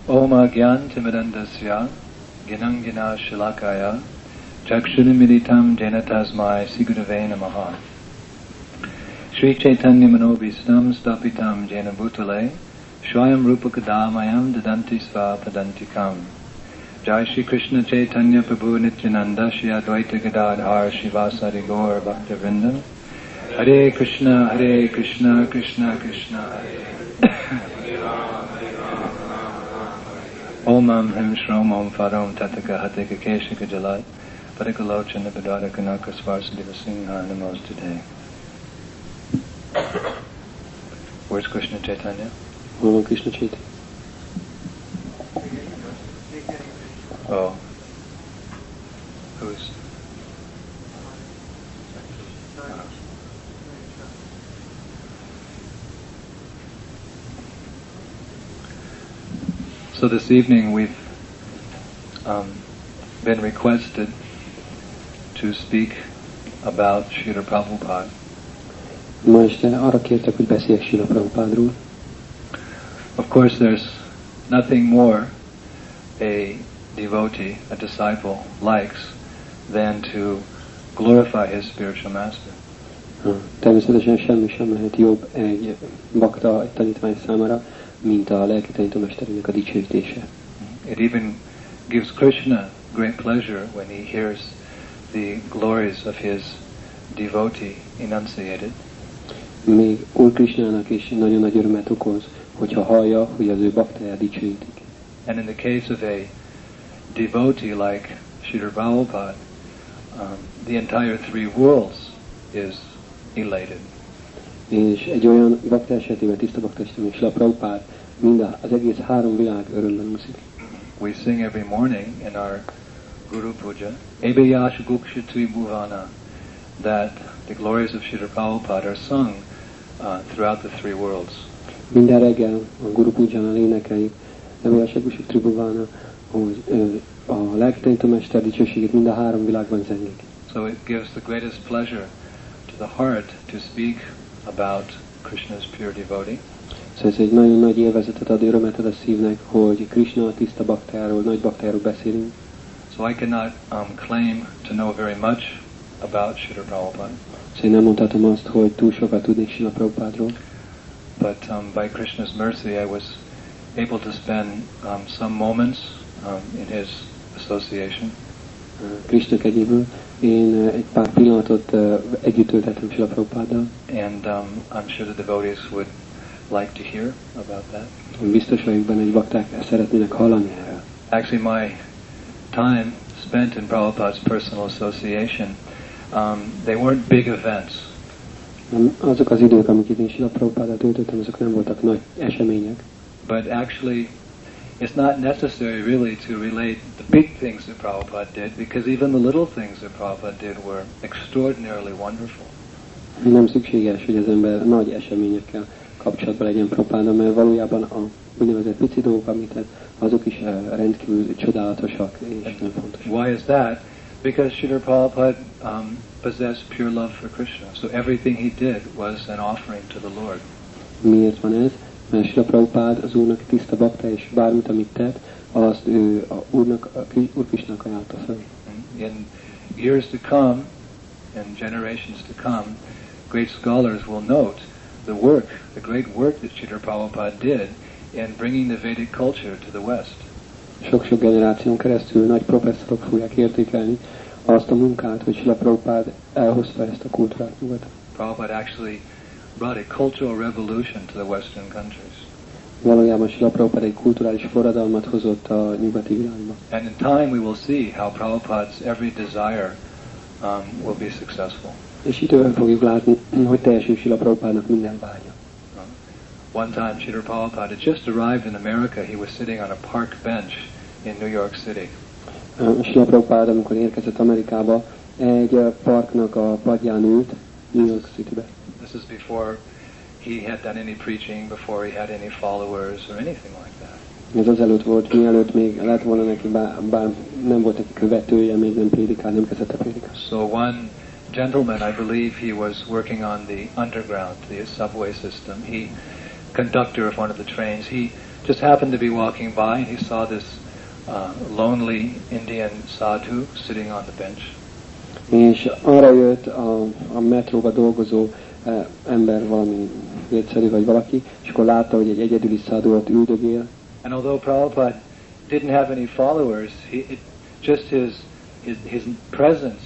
Om Agyantimirandasya Ginangina Shilakaya Chakshunimilitam Janatasmai Sigurave Namaha Sri Chaitanya Manobhistam Stapitam Jena Bhutale Shwayam Rupakadamayam Dadanti Sva Padantikam Jai Shri Krishna Chaitanya Prabhu Nityananda Shri Advaita Gadadhar Shivasari Gaur Bhaktavrinda Hare Krishna Krishna Krishna Hare Om Him Shrom Om Farom Tataka Hateka Keshika Jalai Padikalochana Padada Kanaka Svarsadeva Singha Namos today. Where's Krishna Chaitanya? Oh, Krishna Chaitanya. Oh. Who's? So this evening we've been requested to speak about Srila Prabhupada. Ma este arra kértek, hogy beszéljek Srila Prabhupádról. Of course there's nothing more a devotee, a disciple likes than to glorify his spiritual master. Természetesen semmi sem lehet jobb egy bakta, egy tanítvány számára, mint a lelki tanítómesterének a dicsőítése. It even gives Krishna great pleasure when he hears the glories of his devotee enunciated. Még Úr Krishnának is nagyon nagy örömet okoz, hogyha hallja, hogy az ő baktáját dicsőítik. And in the case of a devotee like Srila Prabhupada, the entire three worlds is elated. És egy olyan bakta esetében, tiszta bakta esetében, Srila Prabhupád, az egész három világ örömben úszik. We sing every morning in our Guru Puja, Ebeyash Gukshitui Bhuvana, that the glories of Srila Prabhupada are sung throughout the three worlds. Minden reggel a Guru Pujánál énekeljük, Ebeyash Gukshitui Bhuvana, hogy a lelki tanítómester dicsőségét mind a három világban zengik. So it gives the greatest pleasure to the heart to speak about Krishna's pure devotee. Szóval ez egy nagyon nagy élvezetet ad, örömet ad a szívnek, hogy Krishna a tiszta baktájáról, nagy baktájáról beszélünk. So I cannot claim to know very much about Srila Prabhupada. Szóval én nem mondhatom azt, hogy túl sokat tudnék Srila Prabhupádról. But by Krishna's mercy I was able to spend some moments in his association. Krishna kegyéből én egy pár pillanatot együtt töltettem Srila Prabhupáddal. And I'm sure the devotees would like to hear about that. Biztos vagyok benne, hogy bakták szeretnének hallani erről. Actually, my time spent in Prabhupada's personal association, they weren't big events. Azok az idők, amiket én Srila Prabhupáddal töltöttem, azok nem voltak nagy események. But actually, it's not necessary really to relate the big things that Prabhupada did, because even the little things that Prabhupada did were extraordinarily wonderful. Nem szükséges, hogy az ember nagy eseményekkel kapcsolatban legyen Prabhupáddal, mert valójában a úgynevezett pici dolgok, amit azok is rendkívül csodálatosak és nem fontosak. Why is that? Because Srila Prabhupada possessed pure love for Krishna, so everything he did was an offering to the Lord. Miért van ez? Mert Srila Prabhupád az Úrnak tiszta bakta, és bármit, amit tett, azt ő Úr Krishnának ajánlta fel. In years to come, in generations to come, great scholars will note the great work that Srila Prabhupada did in bringing the Vedic culture to the West. Sok-sok generáción keresztül nagy professzorok fogják értékelni azt a munkát, hogy Srila Prabhupada elhozta ezt a kultúrát nyugatra. Prabhupada actually brought a cultural revolution to the Western countries. Valójában Srila Prabhupada egy kulturális forradalmat hozott a nyugati világba. And in time we will see how Prabhupada's every desire will be successful. És időben fogjuk látni, hogy teljesül Srila Prabhupádnak minden vágya. One time Srila Prabhupada had just arrived in America. He was sitting on a park bench in New York City. Srila Prabhupada, amikor érkezett Amerikába, egy parknak a padján ült New York Citybe. This is before he had done any preaching, before he had any followers or anything like that. Ez azelőtt volt, mielőtt még lett volna neki, bár nem volt neki követője, még nem prédikál, nem kezdett a prédikálni. So one gentleman, I believe he was working on the underground, the subway system. He, conductor of one of the trains, he just happened to be walking by, and he saw this lonely Indian sadhu sitting on the bench. És arra jött a metróba dolgozó ember, valami védszerű vagy valaki, és akkor látta, hogy egy egyedüli szádhu ott üldögél. And although Prabhupada didn't have any followers, just his presence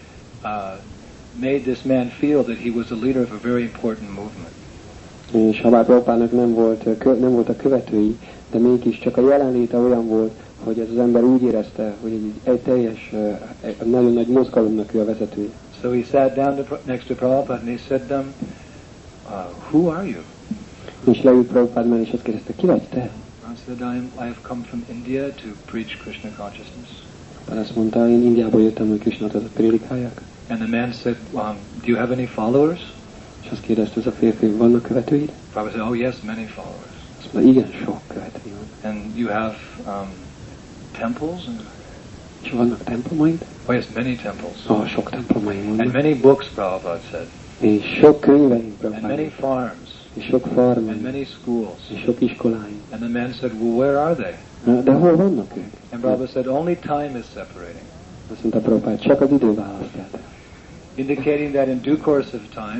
made this man feel that he was a leader of a very important movement. És ha bár Prabhupádnak nem voltak követői, de mégis csak a jelenléte olyan volt, hogy ez az ember úgy érezte, hogy egy teljes, nagyon nagy mozgalomnak ő a vezetője. So he sat down next to Prabhupada and he said to them, who are you? És leült Prabhupád mellé, és azt kérdezte, ki vagy te? I said, I have come from India to preach Krishna consciousness. Azt mondta, én Indiából jöttem, hogy Krishnát prédikáljak. And the man said, do you have any followers? És azt kérdezte ez a férfi, vannak követőid? Prabhupada said, oh yes, many followers. Azt mondta, igen, sok követői van. And you have temples? És vannak templomaid? Oh yes, many temples. Sok templomaid vannak. And many books, Prabhupada said. És sok könyveim, And Prabhupada. many farms. És sok farm. And many schools. És sok iskoláim. And the man said, well, where are they? De hol vannak ők? And Prabhupada said, only time is separating. Azt mondta Prabhupád, csak az idő választja. Indicating that in due course of time,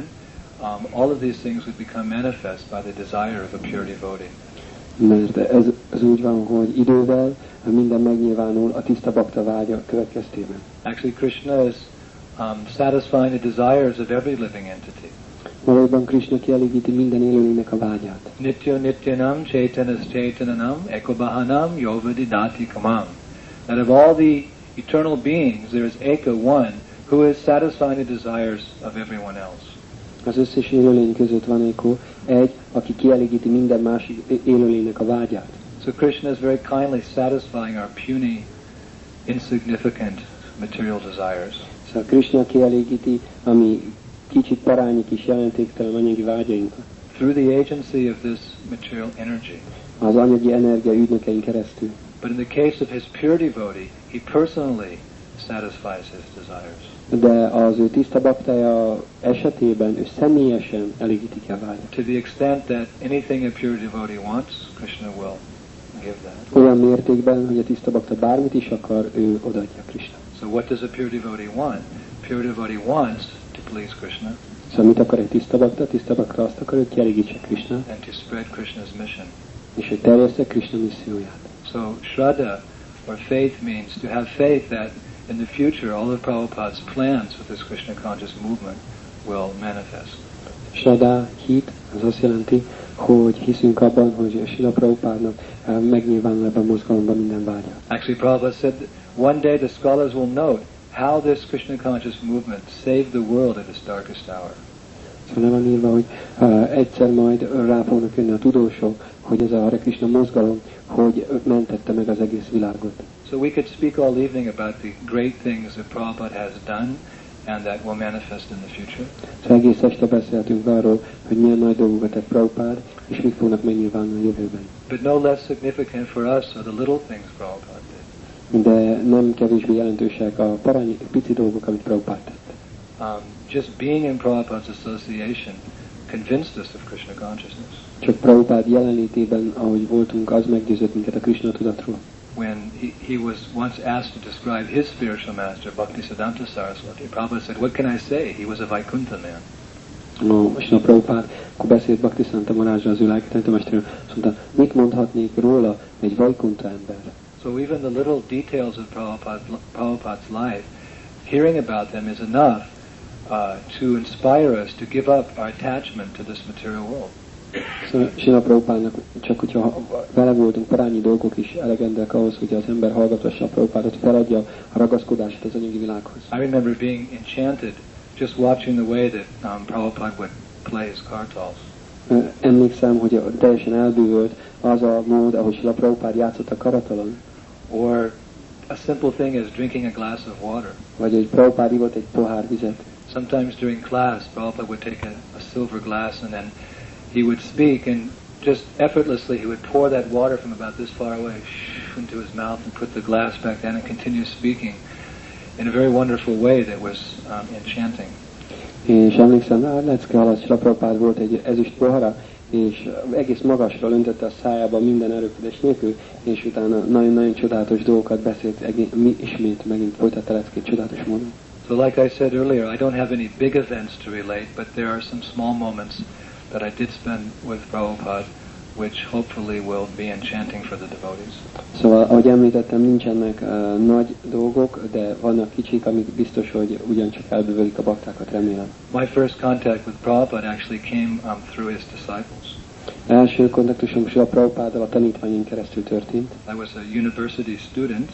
all of these things would become manifest by the desire of a pure devotee. Mert ez úgy van, hogy idővel minden megnyilvánul a tiszta bakta vágya következtében. Actually, Krishna is satisfying the desires of every living entity. Valójában Krishna kielégíti minden élőlénynek a vágyát. Nityo nityanam chaitanas chaitananam ekobahanam yovadidati kamam. That of all the eternal beings, there is Eka, one, who is satisfying the desires of everyone else. Az összes élőlény között van egy, aki kielégíti minden másik élőlénynek a vágyát. So Krishna is very kindly satisfying our puny, insignificant material desires. Szóval Krishna kielégíti a mi kicsit parányi kis jelentéktelen anyagi vágyainkat. Through the agency of this material energy. Az anyagi energia ügynökein keresztül. But in the case of his pure devotee, he personally satisfies his desires. De az ő tiszta baktája esetében ő személyesen elégíti ki a vágyat. To the extent that anything a pure devotee wants, Krishna will give that. Olyan mértékben, hogy a tiszta bakta bármit is akar, ő odaadja Krishna. So what does a pure devotee want? Pure devotee wants to please Krishna. Szóval mit akar egy tiszta bakta? A tiszta bakta azt akar, hogy kielégítse Krishna. And to spread Krishna's mission. És hogy terjessze Krishna misszióját. So Shraddha or faith means to have faith that in the future all of Prabhupada's plans with this Krishna conscious movement will manifest. Shraddha, hit, az azt jelenti, hogy hiszünk abban, hogy Srila Prabhupádnak megnyilvánul ebben a mozgalomban minden vágya. Actually, Prabhupada said that one day the scholars will note how this Krishna conscious movement saved the world at its darkest hour. Szóval van írva, hogy egyszer majd rá fognak jönni a tudósok, hogy ez a Hare Krishna mozgalom, hogy mentette meg az egész világot. So we could speak all evening about the great things that Prabhupada has done and that will manifest in the future. Szóval egész este beszéltünk arról, hogy milyen nagy dolgokat tett Prabhupád, és mik fognak megnyilvánulni a jövőben. But no less significant for us are the little things Prabhupada did. De nem kevésbé jelentősek a parányi pici dolgok, amit Prabhupád tett. Just being in Prabhupada's association convinced us of Krishna consciousness. Csak Prabhupád jelenlétében, ahogy voltunk, az meggyőzött minket a Krishna tudatról. When he was once asked to describe his spiritual master, Bhaktisiddhanta Saraswati, Prabhupada said, what can I say? He was a Vaikuntha man. És a Prabhupád, akkor beszélt Bhaktisiddhanta Marázsa az ő lelkitanítómesterről, azt mondta, mit mondhatnék róla egy Vaikuntha ember? So even the little details of Prabhupada's life, hearing about them is enough to inspire us to give up our attachment to this material world. Szóval Srila Prabhupádnak csak hogyha vele voltunk, parányi dolgok is elegendőek ahhoz, hogy az ember hallgatassa a Prabhupádot, feladja a ragaszkodását az anyagi világhoz. I remember being enchanted just watching the way that Prabhupada would play his kartals. Emlékszem, hogy teljesen elbűvölt az a mód, ahogy Srila Prabhupád játszott a karatalon. Or a simple thing as drinking a glass of water. Vagy hogy Prabhupád ivott egy pohár vizet. Sometimes during class, Prabhupada would take a silver glass and then he would speak and just effortlessly he would pour that water from about this far away into his mouth and put the glass back down and continue speaking in a very wonderful way that was enchanting. És emlékszem, lecke alatt Srila Prabhupád volt egy ezüst pohara, és egész magasról öntötte a szájába minden erőködés nélkül, és utána nagyon-nagyon csodálatos dolgokat beszélt, ismét megint folytatta leckét csodálatos módon. So like I said earlier, I don't have any big events to relate, but there are some small moments that I did spend with Prabhupada, which hopefully will be enchanting for the devotees. Szóval, ahogy említettem, nincsenek nagy dolgok, de vannak kicsik, amik biztos, hogy ugyancsak elbűvölik a baktákat, remélem. My first contact with Prabhupada actually came through his disciples. Első kontaktusom a Prabhupáddal a tanítványain keresztül történt. I was a university student,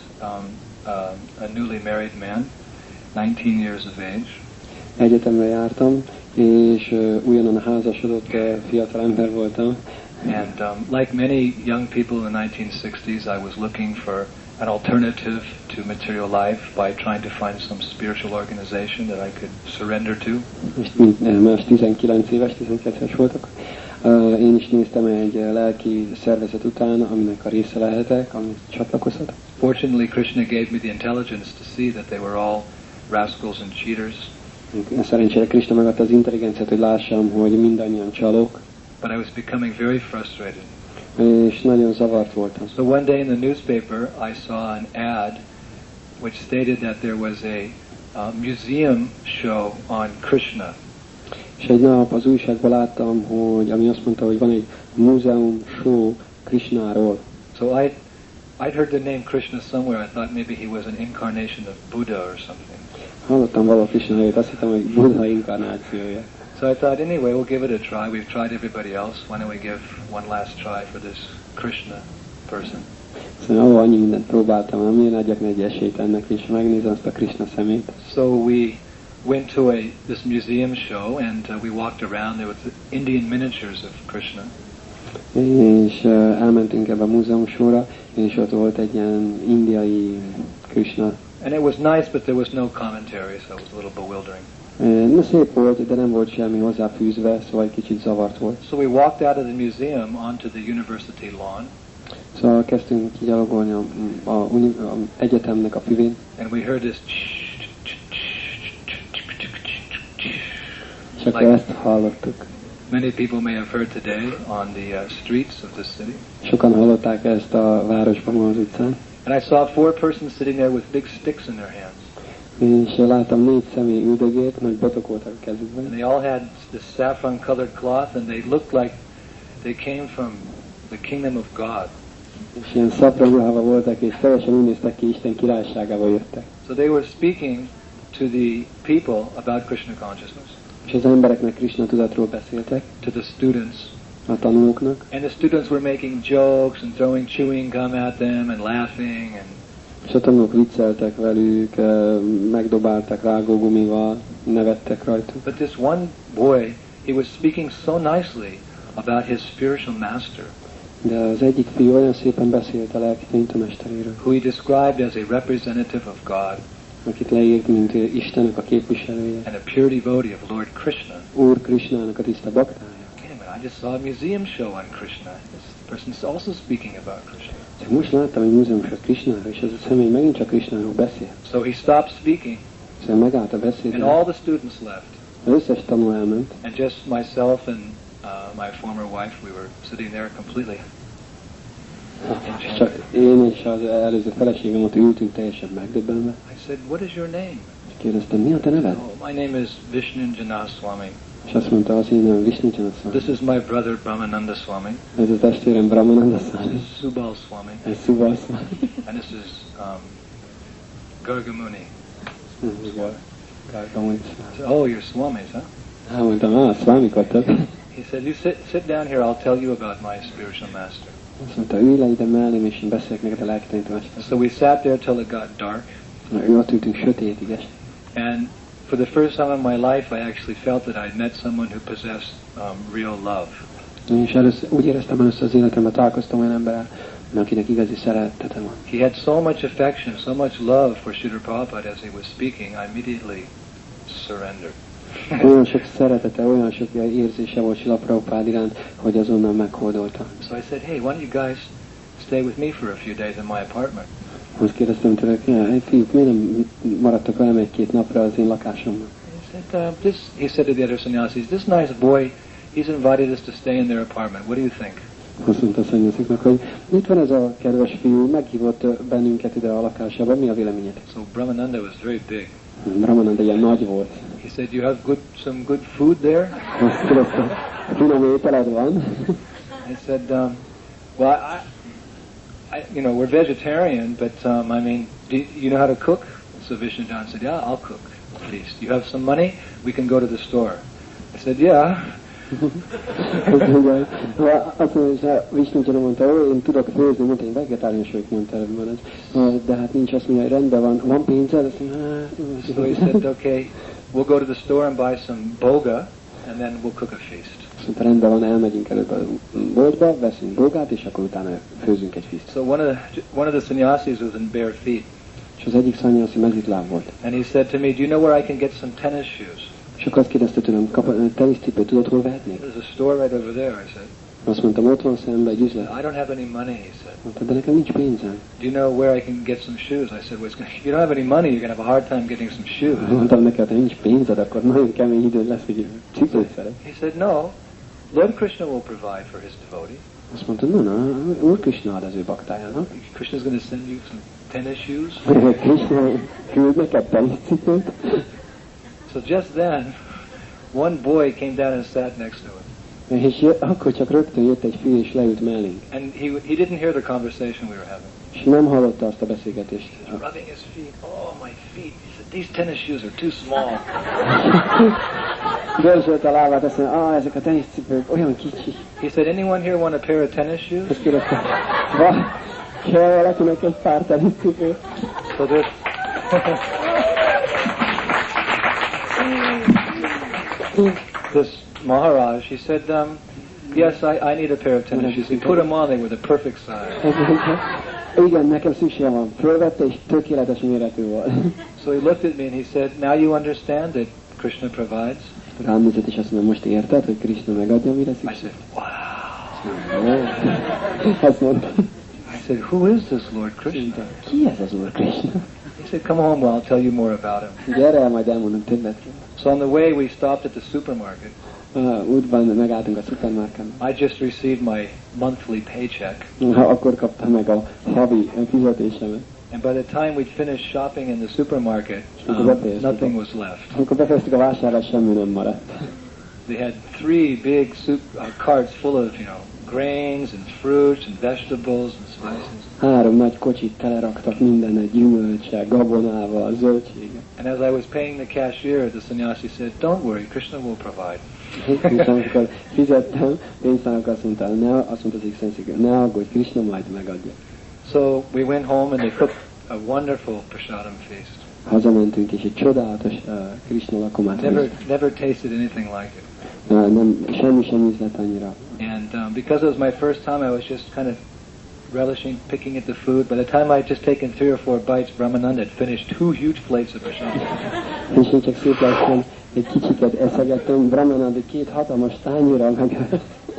a newly married man, 19 years of age. Egyetemre jártam, és újonnan házasodott fiatal ember voltam. And like many young people in the 1960s, I was looking for an alternative to material life by trying to find some spiritual organization that I could surrender to. És mint más 19 éves voltak. Én is néztem egy lelki szervezet után, aminek a része lehetek, amit csatlakozhatok. Fortunately, Krishna gave me the intelligence to see that they were all rascals and cheaters. Szerencsére Krishna megadta az intelligenciát, hogy lássam, hogy mindannyian csalók. But I was becoming very frustrated. És nagyon zavart voltam. So one day in the newspaper, I saw an ad which stated that there was a museum show on Krishna. És egy nap az újságban láttam, hogy ami azt mondta, hogy van egy múzeum show Krishnáról. So I'd heard the name Krishna somewhere. I thought maybe he was an incarnation of Buddha or something. Hallottam valahol Krishna nevét, azt hittem, hogy Buddha inkarnációja. So I thought, anyway, we'll give it a try. We've tried everybody else. Why don't we give one last try for this Krishna person? Szóval annyi mindent próbáltam, nem én adjak egy esélyt ennek, és megnézem azt a Krishna szemét. So we went to this museum show, and we walked around. There was Indian miniatures of Krishna. És elmentünk ebbe a múzeum sorra, és ott volt egy ilyen indiai Krishna. And it was nice, but there was no commentary, so it was a little bewildering. Na, szép volt, de nem volt semmi hozzáfűzve, szóval egy kicsit zavart volt. So we walked out of the museum onto the university lawn. Szóval kezdtünk kigyalogolni a egyetemnek a füvén. And we heard this És akkor ezt hallottuk. Many people may have heard today on the streets of the city. Sokan hallották ezt a városban, az utcán. And I saw 4 persons sitting there with big sticks in their hands. És láttam 4 személy üldögélt, nagy botok voltak a kezükben. And they all had this saffron-colored cloth, and they looked like they came from the kingdom of God. És ilyen szapra ruhában voltak, és teljesen úgy néztek ki, Isten királyságába jöttek. So they were speaking to the people about Krishna consciousness. És az embereknek Krishna tudatról beszéltek. To the students. A tanulóknak. And the students were making jokes and throwing chewing gum at them and laughing and. És a tanulók vicceltek velük, megdobáltak rágógumival, nevettek rajtuk. But this one boy, he was speaking so nicely about his spiritual master. De az egyik fiú olyan szépen beszélt a lelki tanítomesteréről. Who he described as a representative of God. Akit leírt, mint Istennek a képviselője. And a pure devotee of Lord Krishna. Úr Krishnának a tiszta baktája. I just saw a museum show on Krishna. This person is also speaking about Krishna. Most láttam egy múzeumsot Krishnáról, és ez a személy megint csak Krishnáról beszél. So he stopped speaking. Szóval megállt a beszéd. And all the students left. Az összes tanuló elment. And just myself and my former wife, we were sitting there completely. Csak én és az előző feleségem ott ültünk teljesen megdöbbenve. I said, what is your name? Kérdeztem, mi a te neved? Oh, my name is Vishnu Janaswami. És azt mondta, az én nevem Vishnu Janaswami. This is my brother Brahmananda Swami. Ez a testvérem Brahmananda Swami. This is Subal Swami. Ez Subal Swami. And this is Gargamuni. Gargamuni. Oh, you're Swamis, huh? Mondtam, Swamik vagytok. He said, you sit down here, I'll tell you about my spiritual master. Azt mondta, ülj le ide mellém, és én beszélek neked a lelki tanítomester. So we sat there till it got dark. Ő ott ültünk sötétig est. And for the first time in my life, I actually felt that I'd met someone who possessed real love. És először, úgy éreztem először az életemben, találkoztam olyan emberrel, akinek igazi szeretete van. He had so much affection, so much love for Srila Prabhupada as he was speaking, I immediately surrendered. Olyan sok szeretete, olyan sok érzése volt Srila Prabhupada iránt, hogy azonnal meghódolta. So I said, hey, why don't you guys stay with me for a few days in my apartment? Azt kérdeztem tőlük, hey fiúk, miért nem maradtak velem 1-2 napra az én lakásomban? He said to the other sannyasis, this nice boy, he's invited us to stay in their apartment. What do you think? Azt mondta a szanyasziknak, hogy itt van ez a kedves fiú, meghívott bennünket ide a lakásába, mi a véleményed? So Brahmananda was very big. Brahmananda ilyen nagy volt. He said, you have some good food there? Azt kérdezte, finom ételed van? I said, well, you know, we're vegetarian, but I mean, do you know how to cook? So Vishnujan said, yeah, I'll cook at least. You have some money? We can go to the store. I said, yeah. Azt mondja, hogy Vishnujan mondta, én tudok főzni, mondta, én vegetáriánus vagyok, mondta előbb, de hát nincs, azt mondja, hogy rendben van pénzed? Azt mondja, so he said, okay, we'll go to the store and buy some boga, and then we'll cook a feast. Azt mondta, rendben van, elmegyünk előbb a boltba, veszünk bogát, és akkor utána főzünk egy feast. So one of the sannyasis was in bare feet. És az egyik szanyaszi mezitláb volt. And he said to me, do you know where I can get some tennis shoes? És akkor azt kérdezte tőlem, teniszcipőt tudod, hol vehetnék? There's a store right over there, I said. Azt mondtam, ott van szembe egy üzlet. I don't have any money, he said. Mondta, de nekem nincs pénzem. Do you know where I can get some shoes? I said, well, if you don't have any money, you're going to have a hard time getting some shoes. Mondtam neki, ha nincs pénzed, akkor nagyon kemény időd lesz, hogy cipőt szeret. He said, no, Lord Krishna will provide for his devotee. Azt mondta, no, Úr Krishna ad az ő baktájának. Krishna's going to send you some tennis shoes. Krishna küld neked teniszcipőt. So just then, one boy came down and sat next to him. És akkor csak rögtön jött egy fiú és leült mellénk. And he didn't hear the conversation we were having. És nem hallotta azt a beszélgetést. He was rubbing his feet. Oh, my feet. He said, these tennis shoes are too small. Dörzsölt a lábát, azt mondja, ezek a teniszcipők olyan kicsi. He said, anyone here want a pair of tennis shoes? Azt kérdezte, kell valakinek egy pár teniszcipőt? So this... This Maharaj, he said, yes, I need a pair of tennis shoes. He put them on, they were the perfect size. Igen, nekem szükségem van. Fölvette, és tökéletes méretű volt. So he looked at me and he said, now you understand that Krishna provides? Rám nézett, és azt mondja, most érted, hogy Krishna megadja, mire I szükség? said, wow. Azt mondta. I said, who is this Lord Krishna? Ki ez az Úr Krishna? He said, come home, well, I'll tell you more about him. Gyere el, majd elmondom többet. So on the way, we stopped at the supermarket. Útban megálltunk a szupermarketben. I just received my monthly paycheck. Akkor kaptam meg a havi fizetésemet. And by the time we'd finished shopping in the supermarket, nothing was left. Amikor befejeztük a vásárlást, semmi nem maradt. They had 3 big carts full of, grains and fruits and vegetables and spices. 3 nagy kocsit teleraktak minden gyümölcsel, gabonával, zöldséggel. And as I was paying the cashier, the sannyasi said, don't worry, Krishna will provide. És amikor fizettem, pénztárnak azt mondta az Isten, ne aggódj, Krishna majd megadja. So we went home and they cooked a wonderful prasadam feast. Hazamentünk, és egy csodálatos Krishna lakomát. Never tasted anything like it. Semmi sem ízlett annyira. And because it was my first time, I was just kind of relishing, picking at the food. By the time I had just taken 3 or 4 bites, Brahmananda had finished 2 huge plates of prasadam. És én csak szép lassan egy kicsiket eszegettem, Brahmananda 2 hatalmas tányérral meg.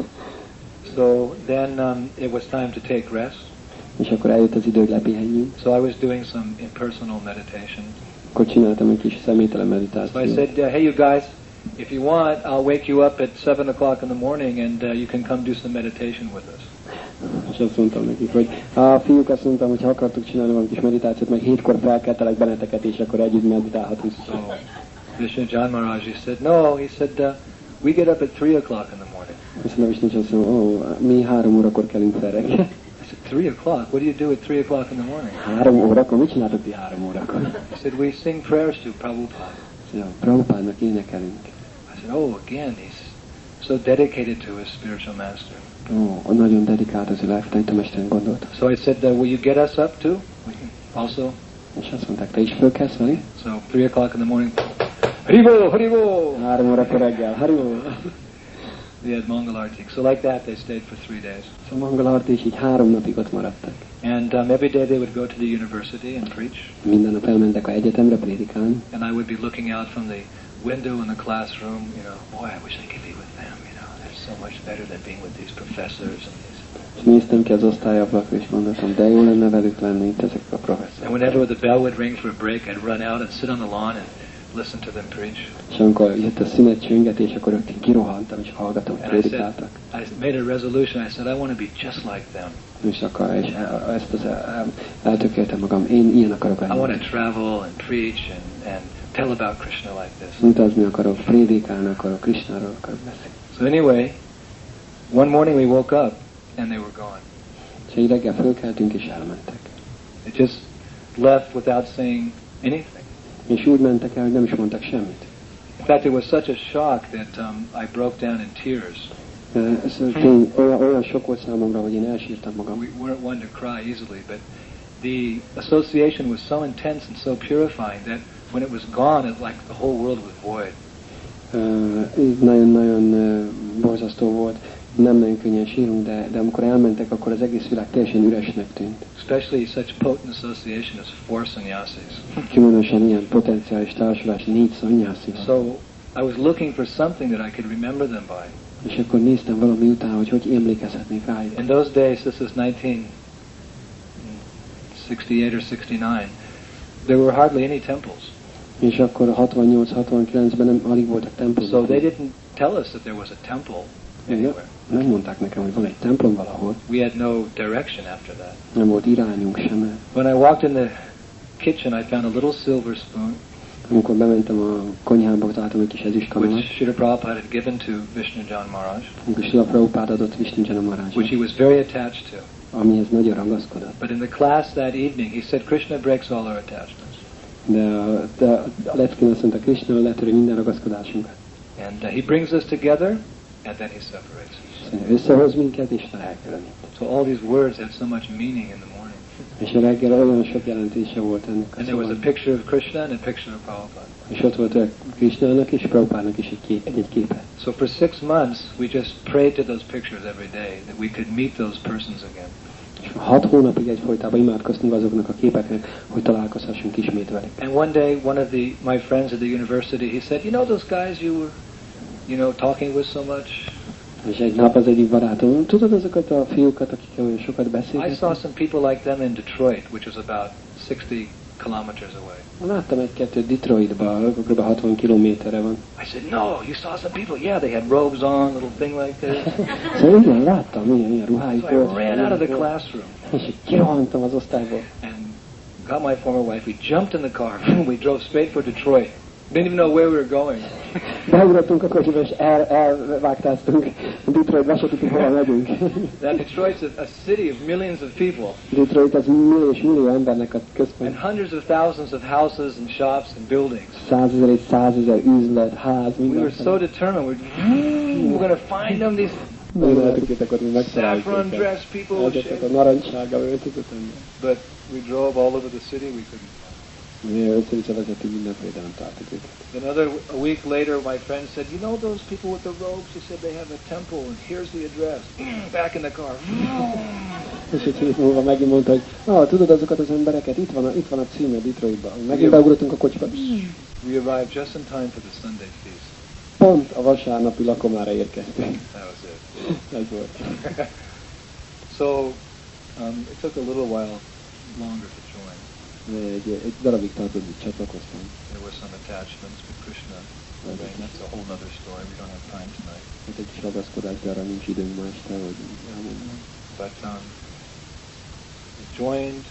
So then it was time to take rest. És akkor eljött az idő, hogy lepihenjünk. So I was doing some impersonal meditation. Akkor csináltam egy kis személytelen meditációt. So I said, hey you guys, if you want, I'll wake you up at 7 o'clock in the morning and you can come do some meditation with us. És azt mondtam nekik, hogy a fiúk, azt mondtam, hogy ha akartuk csinálni valami kis meditációt, meg 7-kor felkeltelek benneteket, és akkor együtt meditálhatunk. So Vishnujan Maharaj, he said, no, he said, we get up at 3 o'clock in the morning. Azt mondom, Vishnujan, azt mondom, mi 3 órakor kelünk fel reggel. I said, 3 o'clock? What do you do at 3 o'clock in the morning? 3 órakor? Mit csináltok ti 3 órakor? He said, we sing prayers to Prabhupada. Prabhupádnak énekelünk. I said, oh, again, he's so dedicated to his spiritual master. Nagyon dedikált az ő lelktanítómesteren, gondolta. So I said, will you get us up too? Also? És azt mondták, te is fölkelsz velünk? So 3 o'clock in the morning, Haribo, Haribo! 3 órakor reggel, Haribo! We had Mangalartik. So like that, they stayed for 3 days. So Mangalartik, és így 3 napig ott maradtak. And every day they would go to the university and preach. Minden nap elmentek a egyetemre prédikálni. And I would be looking out from the window in the classroom, boy, I wish I could be with them, they're so much better than being with these professors and these. És néztem ki az osztályablakra, és mondtam, de jó lenne velük lenni itt ezek a professzorok. And whenever the bell would ring for a break, I'd run out and sit on the lawn and listen to them preach. És amikor jött a szünetcsöngetés, akkor rögtön kirohantam, és hallgatom, hogy And I said, prédikáltak. I made a resolution. I said, I want to be just like them. És ezt eltökéltem magam, én ilyen akarok I want lenni. to travel and preach and tell about Krishna like this. Utazni akarok, prédikálni akarok, Krishnáról akarok beszélni. So anyway, one morning we woke up and they were gone. És egy reggel fölkeltünk, és elmentek. They just left without saying anything. És úgy mentek el, hogy nem is mondtak semmit. In fact, it was such a shock that I broke down in tears. Ez olyan sok volt számomra, hogy én elsírtam magam. We weren't one to cry easily, but the association was so intense and so purifying that when it was gone, it like the whole world was void. Nagyon-nagyon borzasztó volt. Nem nagyon könnyen sírunk, de amikor elmentek, akkor az egész világ teljesen üresnek tűnt. Especially such potent association as four sannyasis. Különösen ilyen potenciális társulás 4 szanyászi. So I was looking for something that I could remember them by. És akkor néztem valami után, hogy emlékezhetnék rájuk. In those days, this is 1968 or 69, there were hardly any temples. És akkor 68-69-ben nem alig voltak templomok. So they didn't tell us that there was a temple anywhere. Nem mondták nekem, hogy van egy templom valahol. We had no direction after that. Nem volt irányunk sem. When I walked in the kitchen, I found a little silver spoon, Amikor bementem a konyhába, találtam egy kis ezüstkanalat, which Srila Prabhupada had given to Vishnujan Maharaj, amikor Srila Prabhupád adott Vishnujana which Maharajnak, he was very attached to. amihez nagyon ragaszkodott. But in the class that evening, he said, Krishna breaks all our attachments. De a leckén azt mondta, Krishna letöri minden ragaszkodásunkat. And he brings us together, and then he separates us. Összehoz minket, és elkülönít. So all these words had so much meaning in the morning. És a reggel olyan sok jelentése volt ennek a And there was a szóval. picture of Krishna and a picture of Prabhupada. És ott volt a Krishnának és Prabhupádnak is egy képe. So for 6 months, we just prayed to those pictures every day, that we could meet those persons again. És 6 hónapig egyfolytában imádkoztunk azoknak a képeknek, hogy találkozhassunk ismét velük. And one day, one of my friends at the university, he said, you know those guys you were, talking with so much? És egy nap az egyik barátom, tudod azokat a fiúkat, akikkel olyan sokat I beszélgetünk? saw some people like them in Detroit, which was about 60 kilometers away. Láttam egy-kettőt Detroitban, kb. 60 kilométerre van. I said, no, you saw some people? Yeah, they had robes on, little thing like this. Szóval igen, láttam, ilyen ruhájuk So I volt. ran out of the classroom És így kirohantam az osztályból. and got my former wife. We jumped in the car. We drove straight for Detroit. Didn't even know where we were going. Beugrottunk a kocsiba, és elvágtáztunk. Detroitba se tudtuk, hova megyünk. That Detroit's a city of millions of people. Detroit az millió és millió embernek a központ. And hundreds of thousands of houses and shops and buildings. 100 000 és 100 000 üzlet, ház, We minden. were so determined. We're going to find them, these Nagyon eltökéltek, hogy megtaláljuk saffron őket. dressed people. Ezeket a narancssárga öltözött ember. But we drove all over the city. We couldn't. Mi össze-vissza vezettünk mindenfelé, de nem találtuk őket. A week later, my friend said, you know those people with the robes? He said they have a temple, and here's the address. Back in the car. És egy hét múlva megint mondta, hogy tudod azokat az embereket, itt van a címe Detroitban. Megint beugrottunk a kocsiba. We arrived just in time for the Sunday feast. Pont a vasárnapi lakomára érkeztünk. That was it. Ez volt. So it took a little while longer to join. Egy darabig tartott, hogy csatlakoztam. There were some attachments with Krishna. That's a whole other story. We don't have time tonight. Hát egy kis ragaszkodás, de arra nincs időnk ma este, hogy elmondom. But we joined,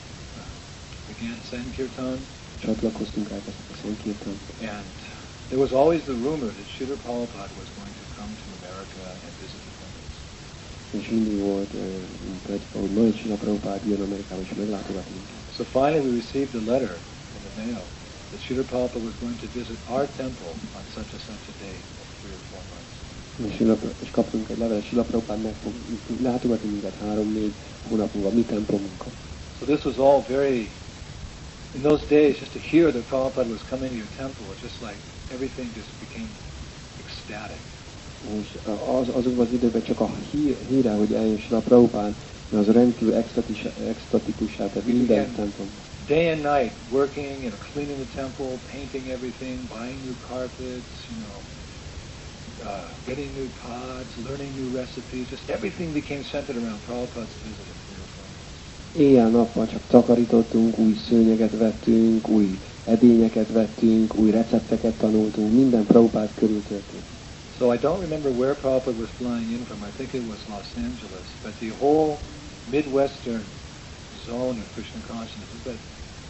began Sankirtan, Csatlakoztunk, elkezdtük a Sankirtan. and there was always the rumor that Srila Prabhupada was going to come to America and visit the temples. És mindig volt, hogy majd Srila Prabhupád jön Amerikába, és meglátogat minket. So finally we received a letter in the mail that Srila Prabhupada was going to visit our temple on such a date of 3 or 4 months. És kaptunk egy levelet, Srila Prabhupád meg fog látogatni minket 3-4 hónap múlva, mi templomunkon. So this was all very, in those days, just to hear that Prabhupada was coming to your temple, was just like everything just became ecstatic. És azokban az időben csak a híre, hogy eljön Srila Prabhupád, az rendkívül extatikussá tett minden templom. Day and night, working, cleaning the temple, painting everything, buying new carpets, getting new pods, learning new recipes. Just everything became centered around Prabhupada's visit. Éjjel-nappal csak takarítottunk, új szőnyeget vettünk, új edényeket vettünk, új recepteket tanultunk, minden Prabhupád körül történt. So I don't remember where Prabhupada was flying in from. I think it was Los Angeles. But the whole Midwestern zone of Krishna consciousness, that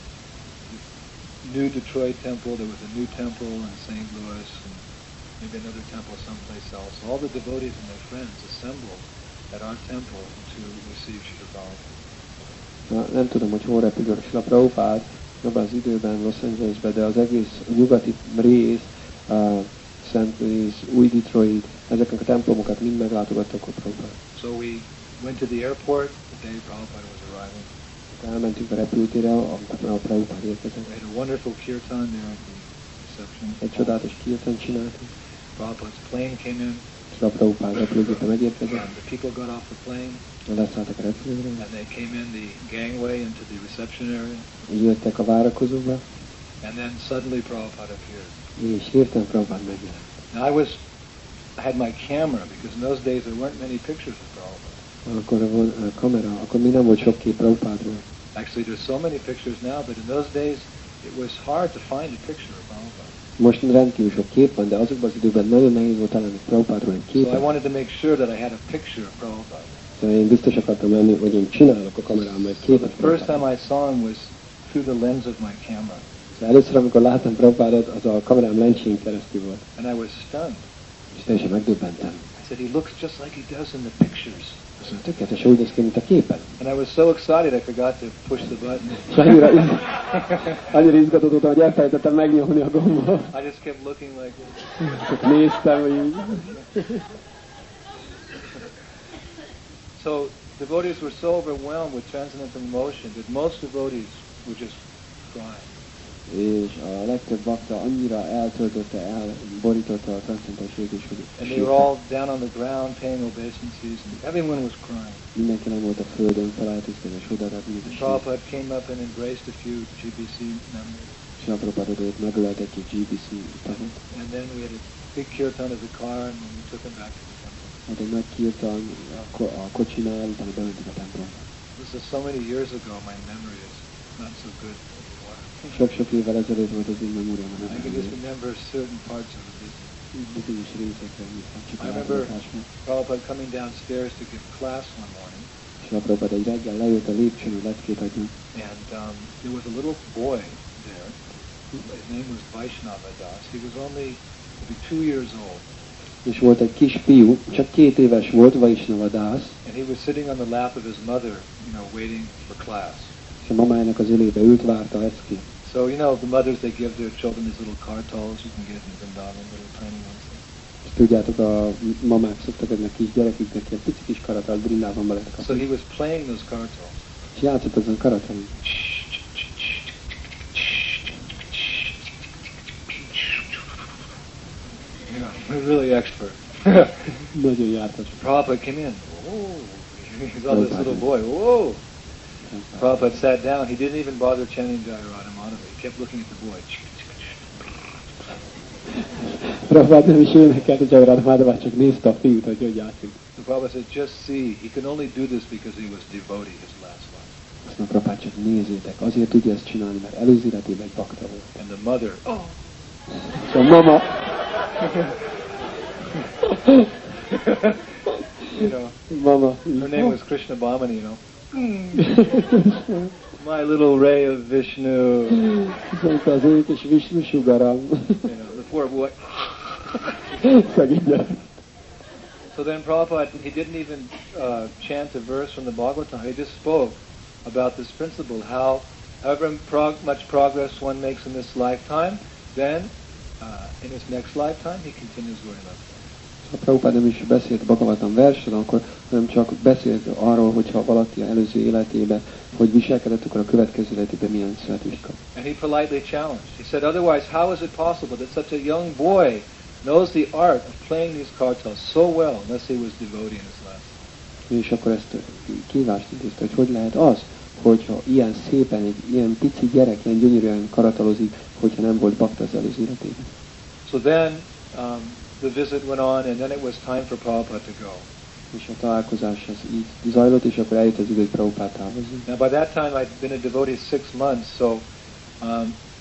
new Detroit temple, there was a new temple in St. Louis, and maybe another temple someplace else. All the devotees and their friends assembled at our temple to receive Srila Prabhupada. Nem tudom, hogy hol repül Srila Prabhupád, abban az időben Los Angelesben, de az egész nyugati rész, St. Louis, új Detroit, ezeknek a templomokat mind meglátogattak a Prabhupád. So we went to the airport the day Prabhupada was arriving. Elmentünk a repülőtérre, amikor a Prabhupád érkezett. We had a wonderful kirtan there at the reception. Egy csodálatos kirtan csináltunk. Prabhupada's plane came in. Srila Prabhupád repülőgépe megérkezett. And the people got off the plane. Leszálltak a repülőre. And they came in the gangway into the reception area. Jöttek a várakozóba. And then suddenly Prabhupada appeared. És hirtelen Prabhupád megjelent. Now I had my camera because in those days there weren't many pictures of Prabhupada. Akkor volt a kamera, akkor még nem volt sok kép Prabhupádról. Actually there's so many pictures now, but in those days it was hard to find a picture of Prabhupada. Most rendkívül sok kép van, de azokban az időben nagyon nehéz volt találni Prabhupádról egy képet. So I wanted to make sure that I had a picture of Prabhupada. Szóval én biztos akartam lenni, hogy én csinálok a kamerámmal egy képet. The first time I saw him was through the lens of my camera. Szóval először, amikor láttam Prabhupádot, az a kamerám lencsén keresztül volt. And I was stunned. És teljesen megdöbbentem. I said, he looks just like he does in the pictures. Szóval tökéletesen úgy néz ki, mint a képen. And I was so excited I forgot to push the button. És annyira izgatottam, hogy elfelejtettem megnyomni a gombot. I just kept looking like this. Csak néztem, hogy így. So devotees were so overwhelmed with transcendental emotion that most devotees were just crying. És a legtöbb bakta annyira elborította a transzcendentális érzés, hogy And they were all down on the ground paying obeisances, and everyone was crying. Mindenki nem volt a földön, felálltiztani és odaadni mindenki. Prabhupada came up and embraced a few GBC members. És a Prabhupádot megölelt egy GBC tagot. And then we had a big kirtan of the car, and we took him back to the temple. Hát egy nagy kirtan a kocsinál, utána bementünk a templomba. This is so many years ago, my memory is not so good anymore. Sok-sok évvel ezelőtt volt az én memóriám. I can just remember certain parts of the visit. Bizonyos részekre emlékszem, csak I remember Prabhupada coming downstairs to give class one morning. És a Prabhupada egy reggel lejött a lépcsőn, hogy leckét adjon. And there was a little boy there. His name was Vaishnava Das. He was only maybe 2 years old. És volt egy kis fiú, csak 2 éves volt, Vaishnava Das. And he was sitting on the lap of his mother, waiting for class. És a mamájának az ölébe ült, várta leckét. So, the mothers, they give their children these little kartals. You can get in Vrindavan, little tiny ones. És tudjátok, a mamák szoktak adni a kis gyereküknek ilyen pici kis karatalt, Brindávonban lehet kapni. So he was playing those kartals. És játszott azon karatalon. Really expert. Nagyon jártas. Prabhupada came in. Oh, he saw this little boy. Whoa! Prabhupada sat down. He didn't even bother chanting Jayarada Madhava. He kept looking at the boy. Prabhupada nem is énekelt a Jayarada Madhavát, csak nézte a fiút, hogy játszik. So Prabhupada said, just see, he can only do this because he was devotee his last life. Azt mondja, Prabhupada, csak nézzétek, azért tudja ezt csinálni, mert előző életében egy bakta volt. And the mother, oh! És a mama... Mama. Her name was Krishna Bhamani, My little ray of Vishnu. Szóval az ők és Vishnu sugaram. The poor boy. Szegény gyerek. So then Prabhupada, he didn't even chant a verse from the Bhagavatam. He just spoke about this principle, however much progress one makes in this lifetime, then in his next lifetime he continues going up. A Prabhupada nem is beszélt Bhagavatam versről, hanem csak beszélt arról, hogyha valaki előző életében, hogy viselkedett, akkor a következő életében milyen születést kap. And he politely challenged. He said, otherwise, how is it possible that such a young boy knows the art of playing these kartals so well, unless he was devotee in his last life? És akkor ezt kívást intézte, hogy lehet az, hogyha ilyen szépen, egy ilyen pici gyerek, ilyen gyönyörűen karatalozik, hogyha nem volt bakta az előző életében. So then, the visit went on, and then it was time for Prabhupada to go. És a találkozás az így zajlott, és akkor eljött az idő, hogy Prabhupada távozott. Now by that time I'd been a devotee 6 months, so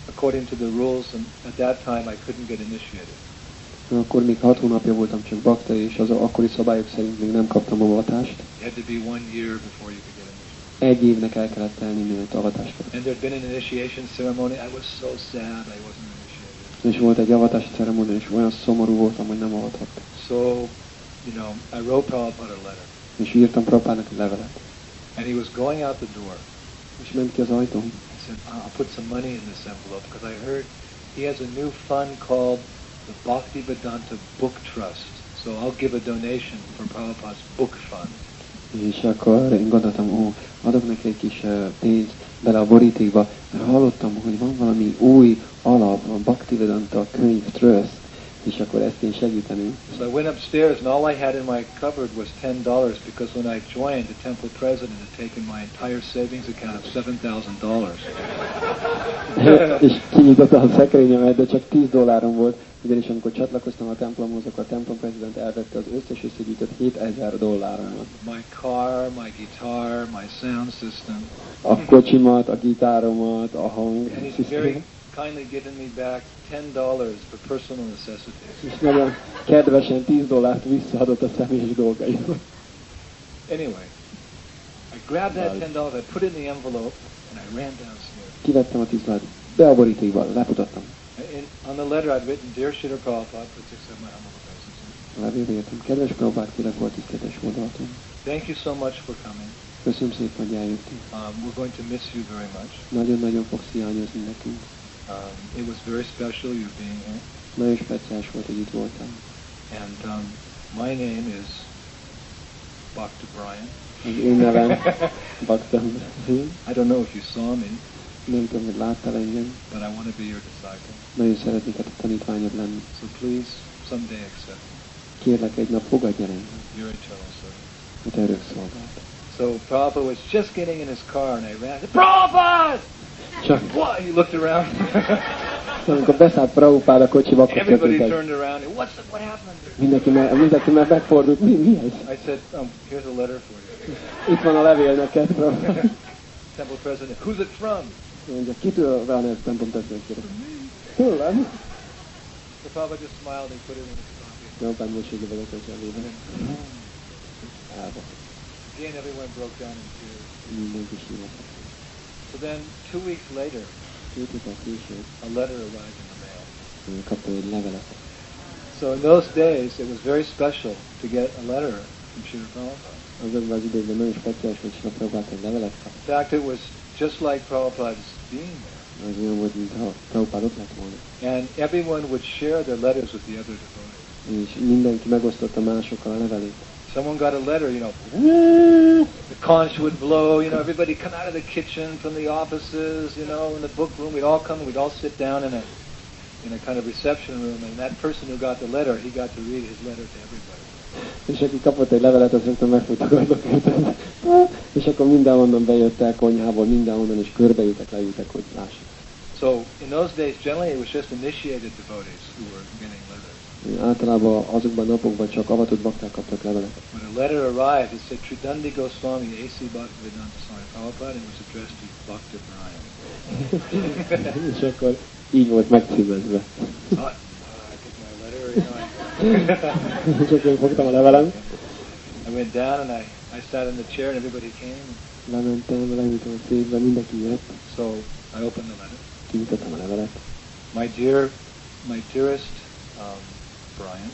according to the rules, and at that time I couldn't get initiated. Akkor még 6 hónapja voltam csak bakta, és az akkori szabályok szerint még nem kaptam avatást. It had to be 1 year before you could get initiated. Egy évnek el kellett telni, mielőtt avatást kaptam. And there'd been an initiation ceremony. I was so sad I wasn't initiated. És volt egy avatási ceremónia, és olyan szomorú voltam, hogy nem avathattam. So, you know, I wrote Prabhupada a letter. És írtam Prabhupádnak egy levelet. And he was going out the door. És ment ki az ajtón. I said, I'll put some money in this envelope because I heard he has a new fund called the Bhaktivedanta Book Trust. So I'll give a donation for Prabhupada's book fund. És akkor én gondoltam, adok neki egy kis pénzt bele a borítékba, mert hallottam, hogy van valami új alap, a Bhaktivedanta könyv trust, és akkor ezt én segíteném. So I went upstairs and all I had in my cupboard was $10 because when I joined, the temple president had taken my entire savings account of $7,000. És kinyitottam a szekrényemet, de csak $10 volt, ugyanis amikor csatlakoztam a templomhoz, akkor a templom prezident elvette az összes összegyűjtött $7,000. My car, my guitar, my sound system. A kocsimat, a gitáromat, a hang. And he's very kindly given me back $10 for personal necessities. És nagyon kedvesen $10 visszaadott a személyes dolgaimat. Anyway, I grabbed that $10, I put it in the envelope, and I ran downstairs. Kivettem a $10, be a borítékba, lefutattam. On the letter I'd written, Dear Srila Prabhupada, please accept my humble obeisance. A levélbe írtam, kedves Prabhupád, kérlek volt tiszteletes módolatom. Thank you so much for coming. Köszönöm szépen, hogy eljöttél. We're going to miss you very much. Nagyon-nagyon fogsz hiányozni nekünk. It was very special you being here. Nagyon speciális volt, hogy itt voltál. And my name is Bhakta Brian. Az én nevem Bhakta. I don't know if you saw me, Nem tudom, hogy láttál engem. but I want to be your disciple. Nagyon szeretnék a tanítványod lenni. So please, someday accept me. Kérlek, egy nap fogadj el engem, Your eternal servant. hogy te örök szolgáld. So Prabhupada was just getting in his car, and I ran. Prabhupada! Csak What? He looked around. amikor beszállt Prabhupád a kocsiba, akkor Everybody történt egy. turned around. What happened? Mindenki már megfordult. Mi ez? I said, here's a letter for you. Itt van a levél neked, Temple president. Who's it from? Mondja, kitől van ez templom testvérkére? Tőlem? The Prabhupada just smiled and put it in his pocket. Prabhupád mosolyogva vett a zsebébe. Elva. Again, everyone broke down in tears. Mindenki sírt. So then, 2 weeks later, 2 héttel később a letter arrived in the mail. kaptam egy levelet. So in those days, it was very special to get a letter from Srila Prabhupada. Azokban az időkben nagyon speciális, hogy Srila Prabhupád egy levelet kap. In fact, it was just like Prabhupada's being there. Az olyan volt, mintha Prabhupád ott lett volna. And everyone would share their letters with the other devotees. És mindenki megosztotta másokkal a levelét. Someone got a letter, the conch would blow, everybody come out of the kitchen from the offices, in the book room, we'd all come, we'd all sit down in a kind of reception room, and that person who got the letter, he got to read his letter to everybody. És aki kapott egy levelet, az rögtön megfogtak a lökőt. És akkor mindenhonnan bejöttek konyhából, mindenhonnan, és körbeültek, leültek, hogy lássák. So, in those days, generally it was just initiated devotees who were getting letters. Általában azokban a napokban csak avatott bakták kaptak levelet. When a letter arrived, it said Tridandi Goswami, A.C. Bhaktivedanta Swami Prabhupada, and it was addressed to Bhakta Brian. És akkor így volt megcímezve. I took my letter, És akkor én fogtam a levelem, I went down and I sat in the chair and everybody came. lementem, leültem a székbe, mindenki jött, So I opened the letter. kinyitottam a levelet. My dearest Brian,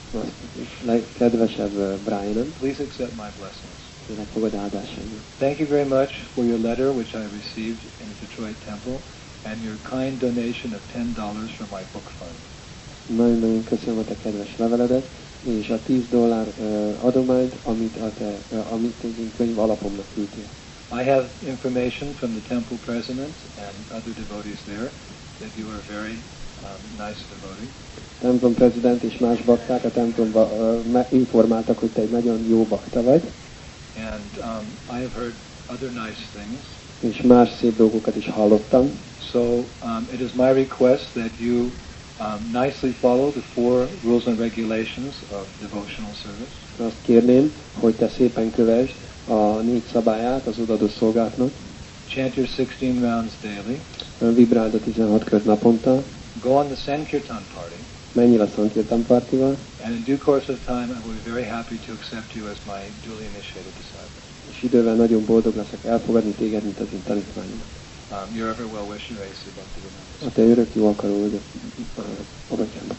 Legkedvesebb Brianem, please accept my blessings. kérlek fogad áldásaimat. Thank you very much for your letter which I received in the Detroit Temple and your kind donation of $10 from my book fund. Nagyon-nagyon köszönöm a te kedves leveledet, és a $10 adományt, amit egy könyv alapomnak küldtél. I have information from the temple president and other devotees there that you are a very nice devotee. A templom prezident és más bakták a templomba informáltak, hogy te egy nagyon jó bakta vagy, And I have heard other nice things. és más szép dolgokat is hallottam. So it is my request that you nicely follow the 4 rules and regulations of devotional service. Azt kérném, hogy te szépen kövesd a 4 szabályát az odadó szolgálatnak. Chant your 16 rounds daily. Vibráld a 16 kört naponta. Go on the Sankirtan party. Menjél a Sankirtan partival. And in due course of time, I will be very happy to accept you as my duly initiated disciple. És idővel nagyon boldog leszek elfogadni téged, mint az én tanítványom. Your ever well-wisher, A.C. Bhaktivedanta. A te örök jó akaró vagy a bátyám.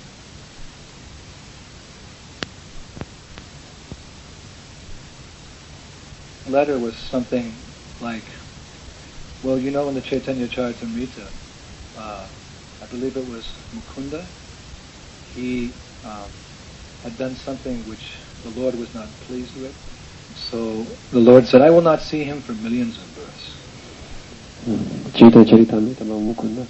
Letter was something like, well, you know, in the Chaitanya Charitamrita, I believe it was Mukunda, he had done something which the Lord was not pleased with. So the Lord said, I will not see him for millions of births. Chaitanya Charitamritában Mukunda,